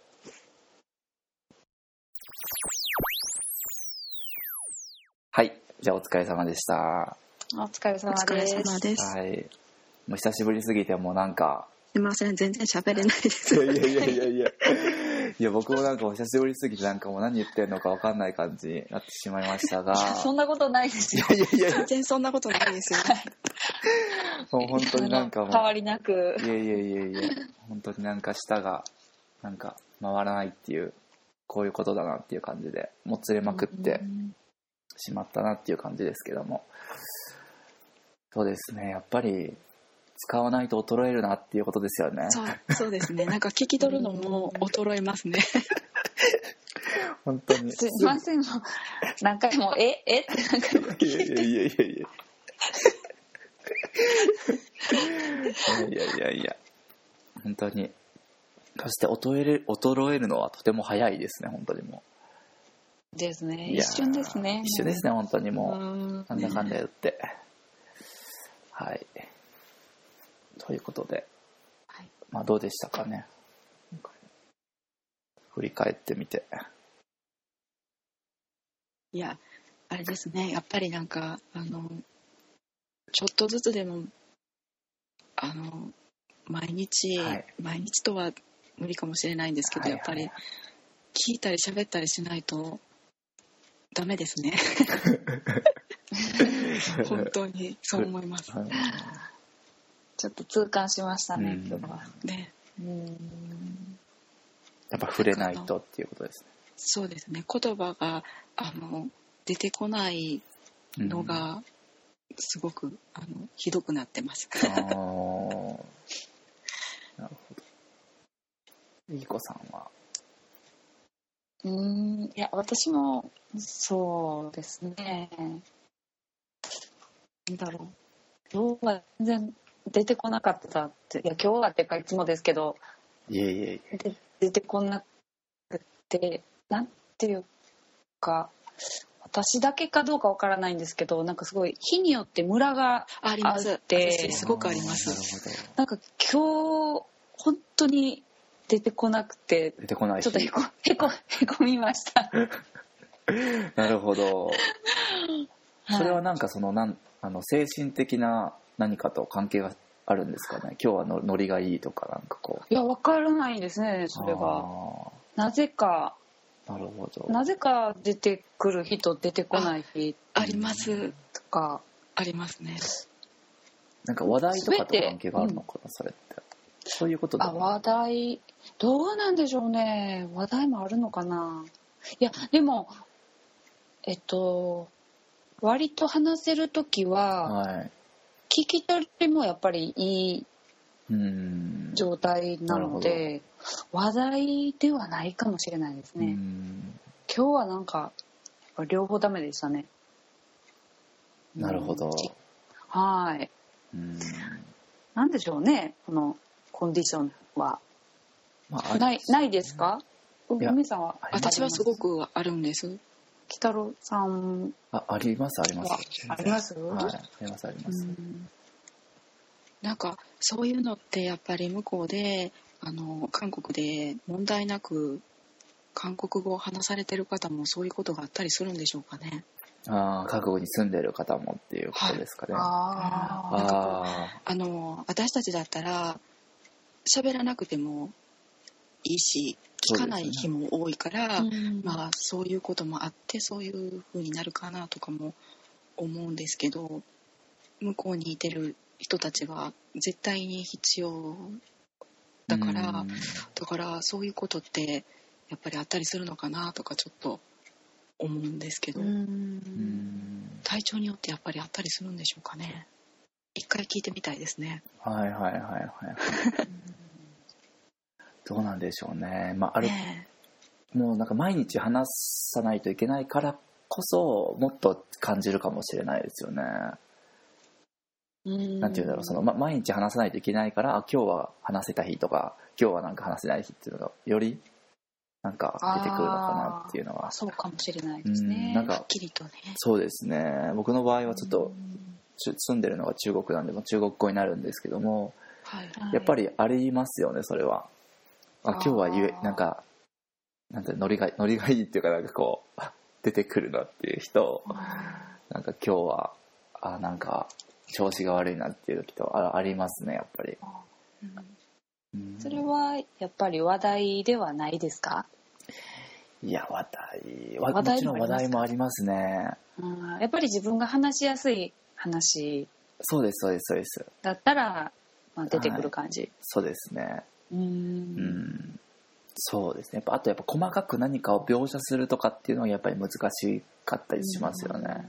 はいじゃあお疲れ様でした。 お疲れ様です。 はい。もう久しぶりすぎてもうなんか。 すいません、全然喋れないです。 いや僕もなんかお久しぶりすぎてなんかもう何言ってんのか分かんない感じになってしまいましたが。 そんなことないですよ。 全然そんなことないですよ。 もう本当になんかもう変わりなく。 いや本当になんか舌がなんか回らないっていうこういうことだなっていう感じでもつれまくってしまったなっていう感じですけども、そうですね、やっぱり使わないと衰えるなっていうことですよね。 そうですね。なんか聞き取るのも衰えますね。 本当に。 すいません、何回もってなんか。いや本当に。そして衰えるのはとても早いですね、本当にもう。ですね。一瞬ですね。 一瞬ですね、本当にもう。なんだかんだ言って。はい。ということで、 はい、 まあどうでしたかね。振り返ってみて。 いや、あれですね。やっぱりなんかちょっとずつでも毎日とは無理かもしれないんですけど、やっぱり聞いたり喋ったりしないとダメですね。本当にそう思います。 ちょっと痛感しましたね、今日は。 ね。 やっぱ触れないとっていうことですね。 そうですね。言葉が出てこないのがすごくひどくなってます。 なるほど。いい子さんは。 いや、私もそうですね。なんだろう。今日は全然出てこなかったって、いや今日はっていうかいつもですけど、出てこなくて、なんていうか、私だけかどうかわからないんですけど、なんかすごい日によってムラがあって、 すごくあります。 なんか今日本当に出てこなくて、 出てこないちょっとへこみました。 なるほど。それはなんか精神的な何かと関係があるんですかね。今日はノリがいいとかなんかこう。 いや、わからないですね、それは。なぜかなるほど。 なぜか出てくる人出てこない日ありますとかありますね。 なんか話題とかと関係があるのかな、それって。そういうことだ。 話題どうなんでしょうね。話題もあるのかな。いやでも割と話せるときは、はい、聞き取りもやっぱりいい状態なので、話題ではないかもしれないですね。今日はなんか両方ダメでしたね。 なるほど。 はい。なんでしょうね、このコンディションは。ないですか？海さんは？ 私はすごくあるんです。 北郎さん。 ありますあります。 あります？ はい、ありますあります。 なんかそういうのってやっぱり向こうで韓国で問題なく韓国語を話されてる方もそういうことがあったりするんでしょうかね。 韓国に住んでる方もっていうことですかね。 私たちだったら喋らなくてもいいし聞かない日も多いから、まあそういうこともあってそういう風になるかなとかも思うんですけど、向こうにいてる人たちは絶対に必要だからそういうことってやっぱりあったりするのかなとかちょっと思うんですけど、体調によってやっぱりあったりするんでしょうかね。一回聞いてみたいですね。 はいはいはいはいどうなんでしょうね。まあもうなんか毎日話さないといけないからこそもっと感じるかもしれないですよね。なんていうんだろう、毎日話さないといけないから今日は話せた日とか今日はなんか話せない日っていうのがよりなんか出てくるのかなっていうのは。 そうかもしれないですね。 なんかはっきりとね。 そうですね。僕の場合はちょっと住んでるのが中国なんでも中国語になるんですけども、やっぱりありますよねそれは。今日はなんかノリがいいっていうかなんかこう出てくるなっていう人、なんか今日はなんか調子が悪いなっていう時とありますねやっぱり。 それはやっぱり話題ではないですか？ いやもちろん話題もありますね。 やっぱり自分が話しやすい話。 そうですそうですそうです。 だったら、出てくる感じ。 そうですね。そうですね。あとやっぱ細かく何かを描写するとかっていうのはやっぱり難しかったりしますよね。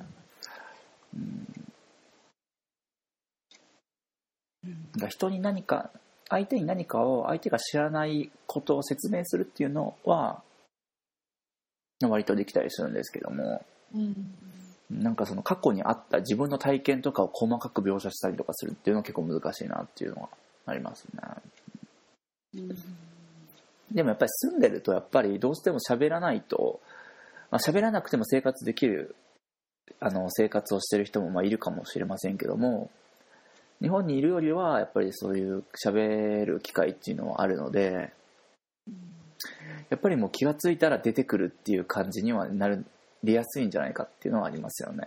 人に相手に何かを相手が知らないことを説明するっていうのは割とできたりするんですけども、なんかその過去にあった自分の体験とかを細かく描写したりとかするっていうのは結構難しいなっていうのはありますね。でもやっぱり住んでるとやっぱりどうしても喋らないと、喋らなくても生活できる生活をしてる人もいるかもしれませんけども、日本にいるよりはやっぱりそういう喋る機会っていうのはあるので、やっぱりもう気がついたら出てくるっていう感じにはなりやすいんじゃないかっていうのはありますよね。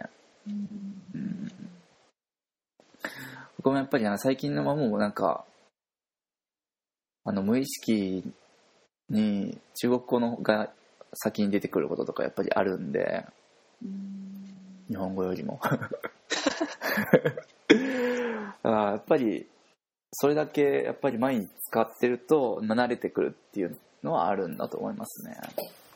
僕もやっぱり最近のもうなんか無意識に中国語のが先に出てくることとかやっぱりあるんで、日本語よりもやっぱりそれだけやっぱり毎日使ってると慣れてくるっていうのはあるんだと思いますね。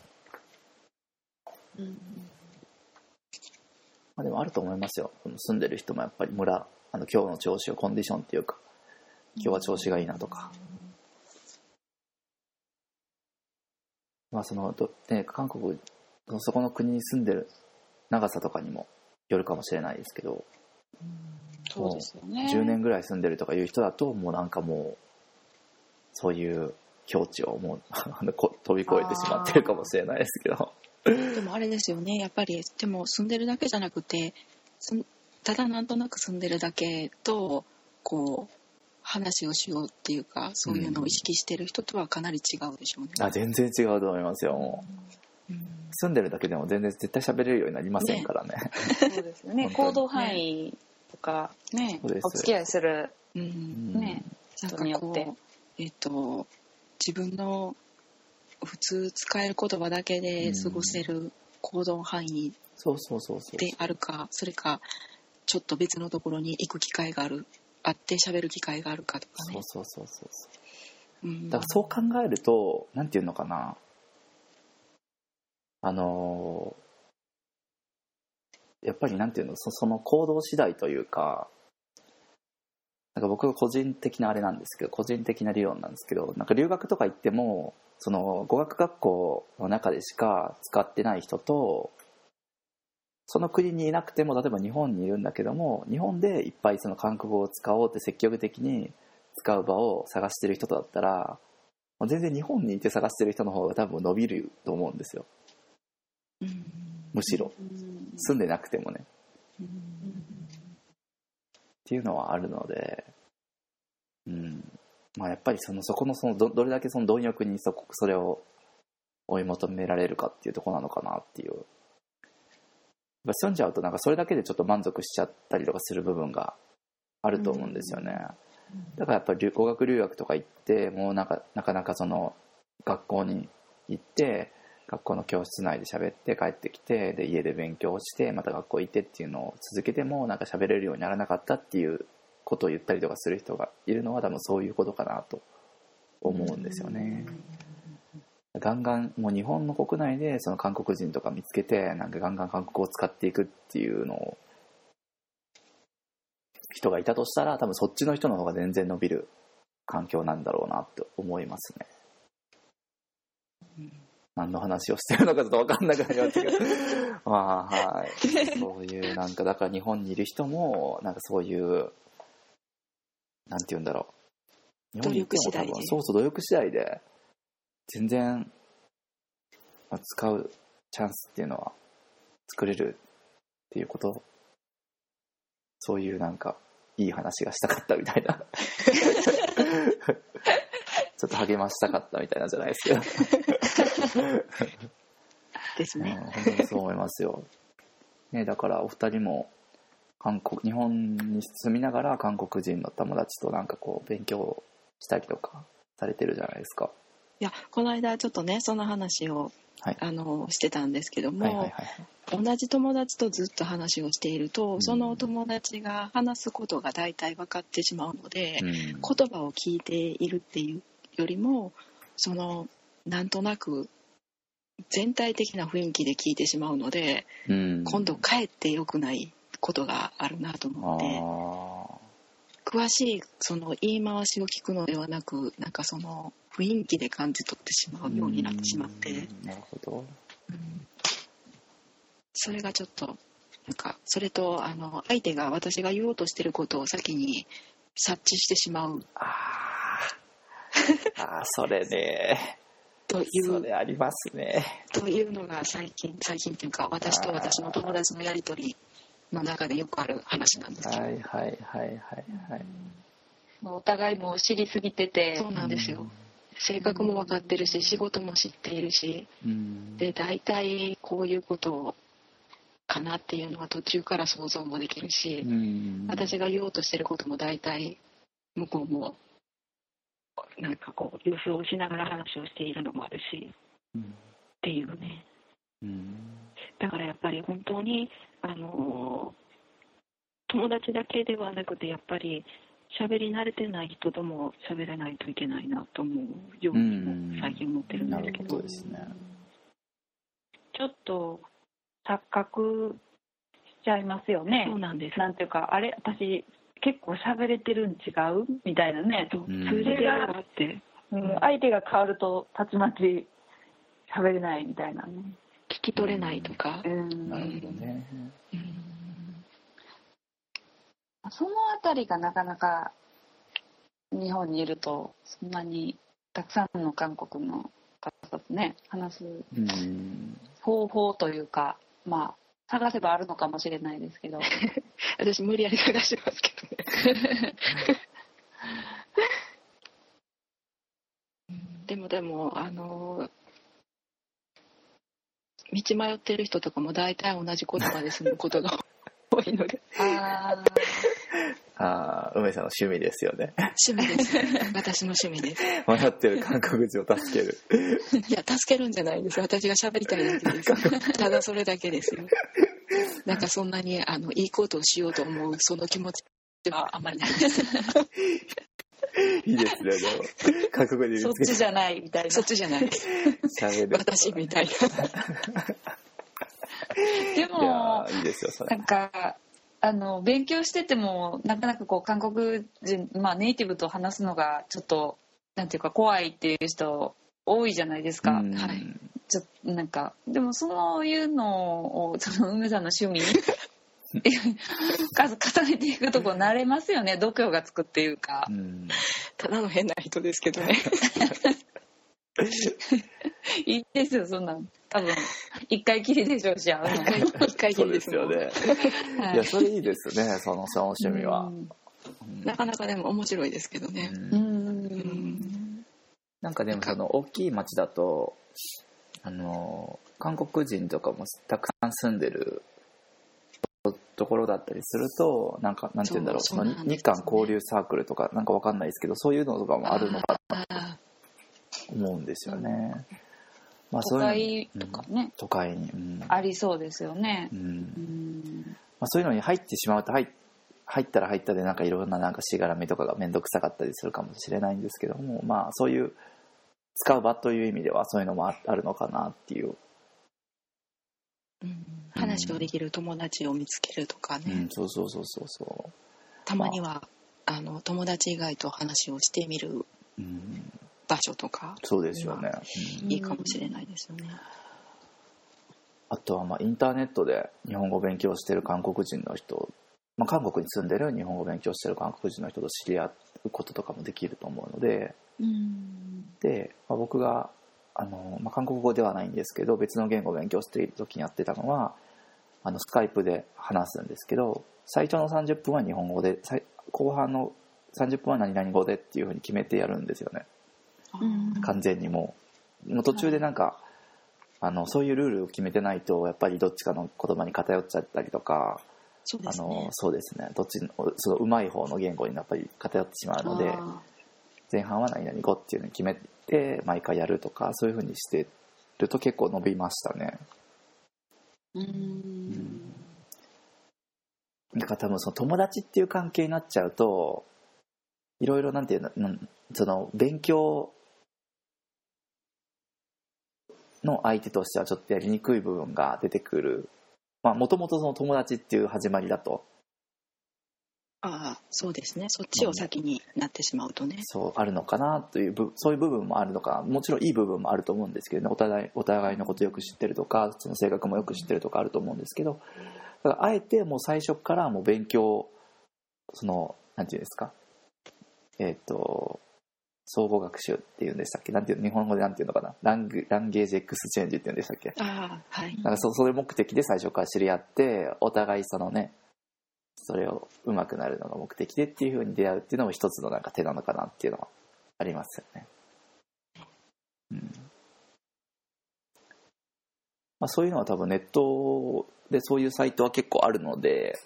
でもあると思いますよ。住んでる人もやっぱり今日の調子をコンディションっていうか今日は調子がいいなとか、韓国そこの国に住んでる長さとかにもよるかもしれないですけど、 そうですよね。 10年ぐらい住んでるとかいう人だともうなんかもうそういう境地をもう飛び越えてしまってるかもしれないですけど。 でもあれですよね、やっぱりでも住んでるだけじゃなくてただなんとなく住んでるだけとこう話をしようっていうかそういうのを意識してる人とはかなり違うでしょうね。 全然違うと思いますよ。もう住んでるだけでも全然絶対喋れるようになりませんからね。 そうですよね。行動範囲とかね、お付き合いするね、人によって自分の普通使える言葉だけで過ごせる行動範囲であるか、それかちょっと別のところに行く機会があって喋る機会があるかとかね。 そう、だからそう考えるとなんていうのかな、やっぱりなんていうの、その行動次第というか、なんか僕が個人的なあれなんですけど、個人的な理論なんですけど、なんか留学とか行ってもその語学学校の中でしか使ってない人と、その国にいなくても例えば日本にいるんだけども、日本でいっぱいその韓国語を使おうって積極的に使う場を探してる人とだったら、全然日本にいて探してる人の方が多分伸びると思うんですよ。むしろ住んでなくてもね、っていうのはあるので、まあやっぱりそこのどれだけその貪欲にそれを追い求められるかっていうところなのかなっていう。住んじゃうとなんかそれだけでちょっと満足しちゃったりとかする部分があると思うんですよね。だからやっぱり語学留学とか行ってもうなかなかその学校に行って学校の教室内で喋って帰ってきて、で家で勉強してまた学校行ってっていうのを続けてもなんか喋れるようにならなかったっていうことを言ったりとかする人がいるのは多分そういうことかなと思うんですよね。ガンガンもう日本の国内でその韓国人とか見つけてなんかガンガン韓国語を使っていくっていうのを人がいたとしたら、多分そっちの人の方が全然伸びる環境なんだろうなって思いますね。何の話をしてるのかちょっと分かんなくなりましたけどまあはい、そういうなんかだから日本にいる人もなんかそういうなんて言うんだろう、 努力次第で、 努力次第で全然使うチャンスっていうのは作れるっていうこと、そういうなんかいい話がしたかったみたいなちょっと励ましたかったみたいなんじゃないですけどですね、 本当にそう思いますよ、ね、だからお二人も日本に住みながら韓国人の友達となんかこう勉強したりとかされてるじゃないですか。 いやこの間ちょっとねその話を、はい、してたんですけども、同じ友達とずっと話をしていると、その友達が話すことが大体分かってしまうので、言葉を聞いているっていうよりもそのなんとなく全体的な雰囲気で聞いてしまうので、今度かえって良くないことがあるなと思って、詳しいその言い回しを聞くのではなく、なんかその雰囲気で感じ取ってしまうようになってしまって、 なるほど、 それがちょっとなんかそれと相手が私が言おうとしてることを先に察知してしまうそれねというそれありますねというのが最近というか私と私の友達のやり取りの中でよくある話なんですけど、 お互いもう知りすぎてて、 そうなんですよ、性格も分かってるし仕事も知っているし、で大体こういうことかなっていうのは途中から想像もできるし、私が言おうとしてることも大体向こうもなんかこう予想しながら話をしているのもあるし、っていうね、だからやっぱり本当に友達だけではなくてやっぱり喋り慣れてない人とも喋らないといけないなと思うようにも最近思ってるんですけど、 ですね、 ちょっと錯覚しちゃいますよね。 そうなんです。 なんていうかあれ私結構喋れてるん違うみたいなね。 それがあって、 相手が変わるとたちまち喋れないみたいなね。 聞き取れないとか。 なるほどね。 そのあたりがなかなか日本にいるとそんなにたくさんの韓国の方とね話す方法というか、まあ探せばあるのかもしれないですけど私無理やり探してますけどねでも道迷ってる人とかも大体同じ言葉で済むことが多いので梅さんの趣味ですよね。 趣味です私の趣味です。 迷ってる韓国人を助ける。 いや、助けるんじゃないです。私が喋りたいだけです。ただそれだけですよ。なんかそんなにいいことをしようと思うその気持ちはあんまりないです。 いいですね。でも韓国人そっちじゃないみたいな。 そっちじゃない。私みたいな。 でもいいですよそれ。 なんか勉強しててもなかなかこう韓国人、ネイティブと話すのがちょっとなんていうか怖いっていう人多いじゃないですか。はい。なんかでもそういうのをその梅さんの趣味重ねていくとこ慣れますよね。度胸がつくっていうか。 ただの変な人ですけどね。 いいですよそんなん。多分一回きりでしょうし、 一回きりですよね。はい、いやそれいいですね。その趣味は。 なかなかでも面白いですけどね。 なんかでもその大きい町だと韓国人とかもたくさん住んでるところだったりするとなんて言うんだろう、その日韓交流サークルとかなんかわかんないですけど、そういうのとかもあるのかなと思うんですよね。 都会とかね、 都会に、 ありそうですよね。 そういうのに入ってしまうと入ったら入ったでなんかいろんななんかしがらみとかが面倒くさかったりするかもしれないんですけども、そういう使う場という意味ではそういうのもあるのかなっていう。 話をできる友達を見つけるとかね。 そうたまには友達以外と話をしてみる場所とか。 そうですよね。 いいかもしれないですよね。 あとはインターネットで日本語を勉強している韓国人の人、韓国に住んでる日本語を勉強している韓国人の人と知り合うこととかもできると思うので、で、僕が韓国語ではないんですけど別の言語を勉強している時にやってたのはスカイプで話すんですけど、最初の30分は日本語で後半の30分は何々語でっていう風に決めてやるんですよね。完全にもう途中でなんかそういうルールを決めてないとやっぱりどっちかの言葉に偏っちゃったりとか、そうですね、どっちのその上手い方の言語にやっぱり偏ってしまうので、前半は何々語っていうのに決めて毎回やるとか、そういう風にしてると結構伸びましたね。だから多分その友達っていう関係になっちゃうといろいろなんていうの、その勉強の相手としてはちょっとやりにくい部分が出てくる。もともとその友達っていう始まりだと。 そうですね。そっちを先になってしまうとね。 そうあるのかなというそういう部分もあるのかな。もちろんいい部分もあると思うんですけどね。お互いのことよく知ってるとか、その性格もよく知ってるとかあると思うんですけど、だからあえてもう最初からもう勉強なんていうんですか。総合学習っていうんでしたっけ、日本語でなんていうのかな、ランゲージエクスチェンジっていうんでしたっけ。 はい。 なんかそれ目的で最初から知り合ってお互いそれを上手くなるのが目的でっていう風に出会うっていうのも一つのなんか手なのかなっていうのはありますよね。そういうのは多分ネットでそういうサイトは結構あるので、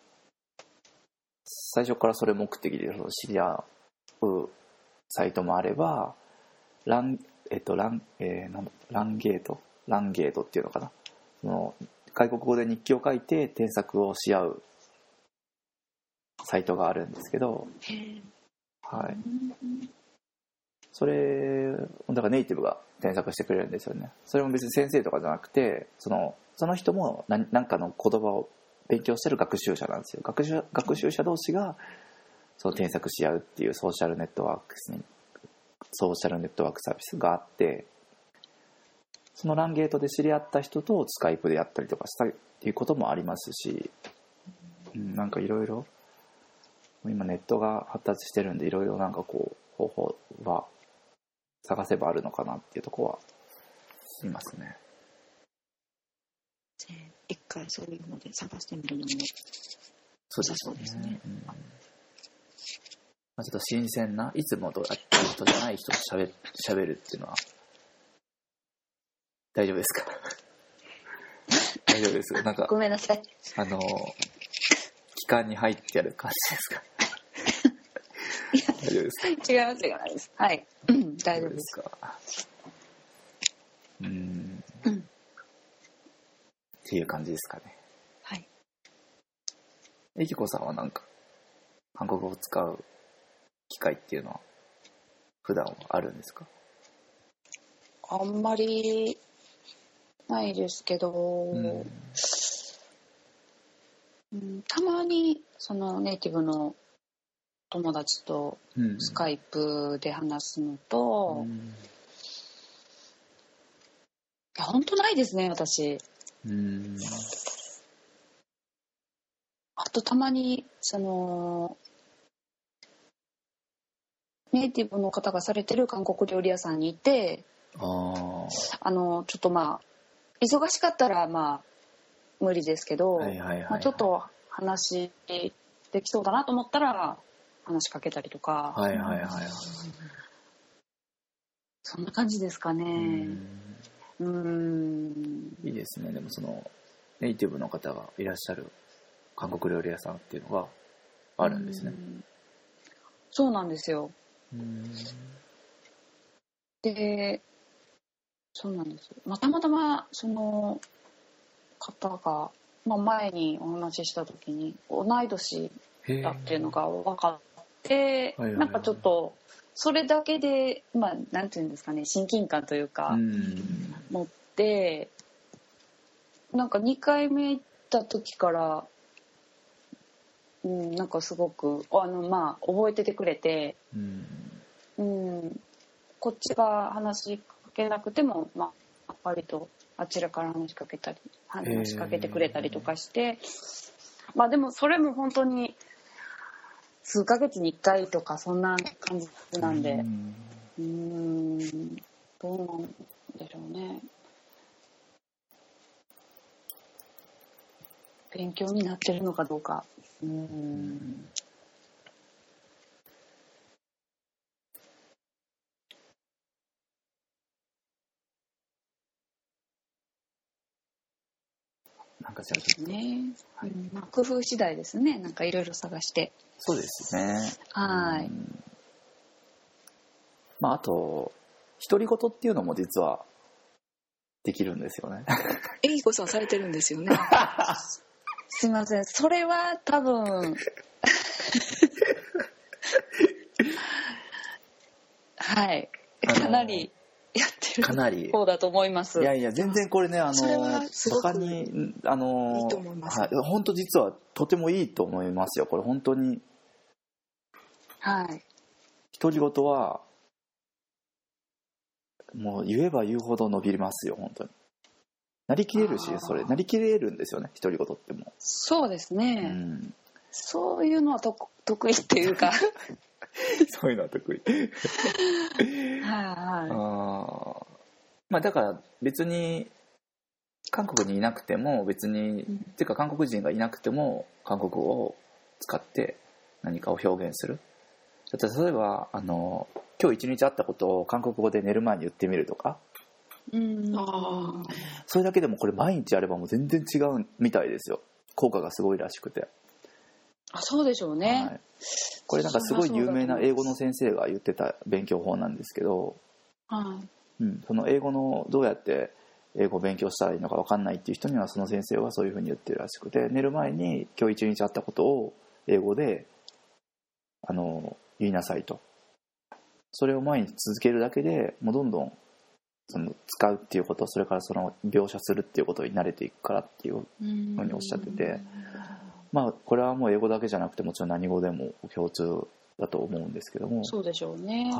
最初からそれ目的で知り合うサイトもあれば、ランゲートっていうのかな、外国語で日記を書いて添削をし合うサイトがあるんですけど、はい、それだからネイティブが添削してくれるんですよね。それも別に先生とかじゃなくて、その人も何かの言葉を勉強してる学習者なんですよ。学習者同士がその添削し合うっていうソーシャルネットワークサービスがあって、そのランゲートで知り合った人とスカイプでやったりとかしたりっていうこともありますし、なんかいろいろ今ネットが発達してるんで、いろいろなんかこう方法は探せばあるのかなっていうところはありますね。 一回そういうので探してみるのもそうですね。ちょっと新鮮ないつもとやってる人じゃない人と喋るっていうのは大丈夫ですか？大丈夫です。なんかごめんなさい。 期間に入ってやる感じですか？ 大丈夫ですか？ 違います。はい、大丈夫です。 っていう感じですかね。 はい。 えきこさんはなんか韓国語を使う機会っていうのは普段はあるんですか？ あんまりないですけど、たまにそのネイティブの友達とスカイプで話すのと、いや本当ないですね私。あとたまにそのネイティブの方がされてる韓国料理屋さんに行って、ちょっとまあ忙しかったらまあ無理ですけど、ちょっと話できそうだなと思ったら話しかけたりとか、そんな感じですかね。 いいですね。でもそのネイティブの方がいらっしゃる韓国料理屋さんっていうのがあるんですね。 そうなんですよ。で、そうなんです。たまたまその方が、前にお話しした時に同い年だっていうのが分かって、なんかちょっとそれだけでなんていうんですかね、親近感というか持って、なんか2回目行った時から、なんかすごく覚えててくれて、こっちが話しかけなくても割とあちらから話しかけてくれたりとかして、でもそれも本当に数ヶ月に1回とかそんな感じなんで、どうなんでしょうね。勉強になってるのかどうか。 なんかじゃあね、工夫次第ですね。なんかいろいろ探して。 そうですね。 はい。 あと独り言っていうのも実はできるんですよね。 えきこさんされてるんですよね。 すいません、それは多分はいかなりやってる方だと思います。 いや全然これねそれはすごくいいと思います。 本当実はとてもいいと思いますよ。これ本当に。 はい。 独り言はもう言えば言うほど伸びますよ本当に。なりきれるし、それなりきれるんですよね、独り言っても。 そうですね、そういうのは得意っていうかそういうのは得意だから別に韓国にいなくても別に、てか韓国人がいなくても韓国語を使って何かを表現する。例えば今日一日あったことを韓国語で寝る前に言ってみるとか、それだけでもこれ毎日やればもう全然違うみたいですよ。効果がすごいらしくて。 そうでしょうね、 これなんかすごい有名な英語の先生が言ってた勉強法なんですけど、その英語のどうやって英語を勉強したらいいのか分かんないっていう人にはその先生はそういうふうに言ってるらしくて、寝る前に今日一日あったことを英語で言いなさいと。それを毎日続けるだけでもうどんどんその使うっていうこと、それからその描写するっていうことに慣れていくからっていうふうにおっしゃってて、これはもう英語だけじゃなくてもちろん何語でも共通だと思うんですけども。 そうでしょうね。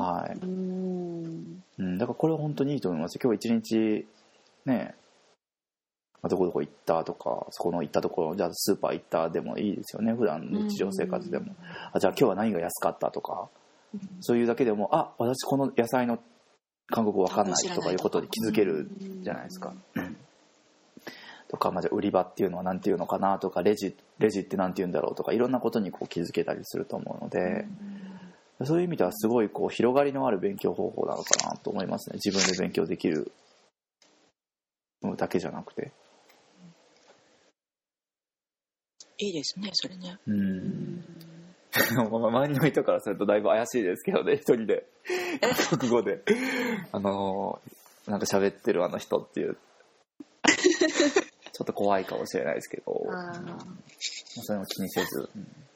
だからこれは本当にいいと思います。今日一日ね、どこどこ行ったとか、そこの行ったところ、じゃあスーパー行ったでもいいですよね。普段日常生活でも、じゃあ今日は何が安かったとか、そういうだけでも私この野菜の韓国語わかんないとかいうことに気づけるじゃないですか。とか、じゃあ売り場っていうのは何ていうのかなとか、レジって何て言うんだろうとか、いろんなことにこう気づけたりすると思うので、そういう意味ではすごいこう広がりのある勉強方法なのかなと思いますね。自分で勉強できるだけじゃなくて。 いいですね、それね。 周りの人からするとだいぶ怪しいですけどね、一人で国語でなんか喋ってるあの人っていうちょっと怖いかもしれないですけど、それも気にせず、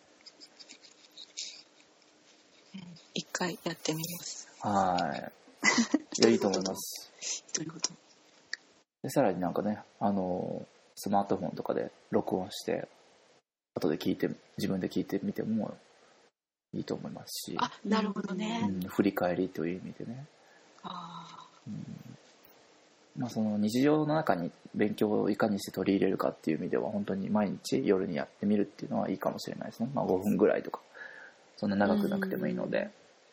一回やってみます。 はい。いや、いいと思います。 独り言。 でさらになんかね、スマートフォンとかで録音して後で自分で聞いてみてもいいと思いますし。 あ、なるほどね。 振り返りという意味でね。その日常の中に勉強をいかにして取り入れるかっていう意味では本当に毎日夜にやってみるっていうのはいいかもしれないですね。5分ぐらいとかそんな長くなくてもいいので。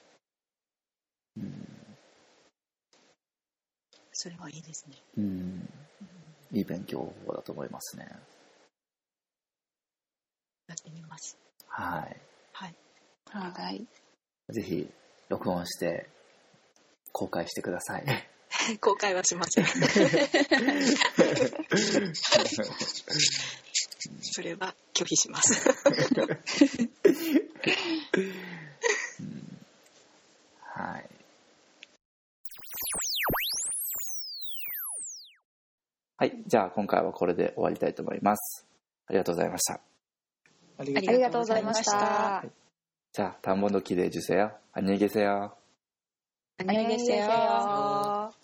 それはいいですね。 いい勉強法だと思いますね。 やってみます。 はい。 はい。 ぜひ録音して公開してください。 公開はしません。それは拒否します。 はい。はい、じゃあ今回はこれで終わりたいと思います。ありがとうございました。 ありがとうございました。はい、 じゃあ、田んぼの木で주세요。안녕히 계세요。 안녕히 계세요。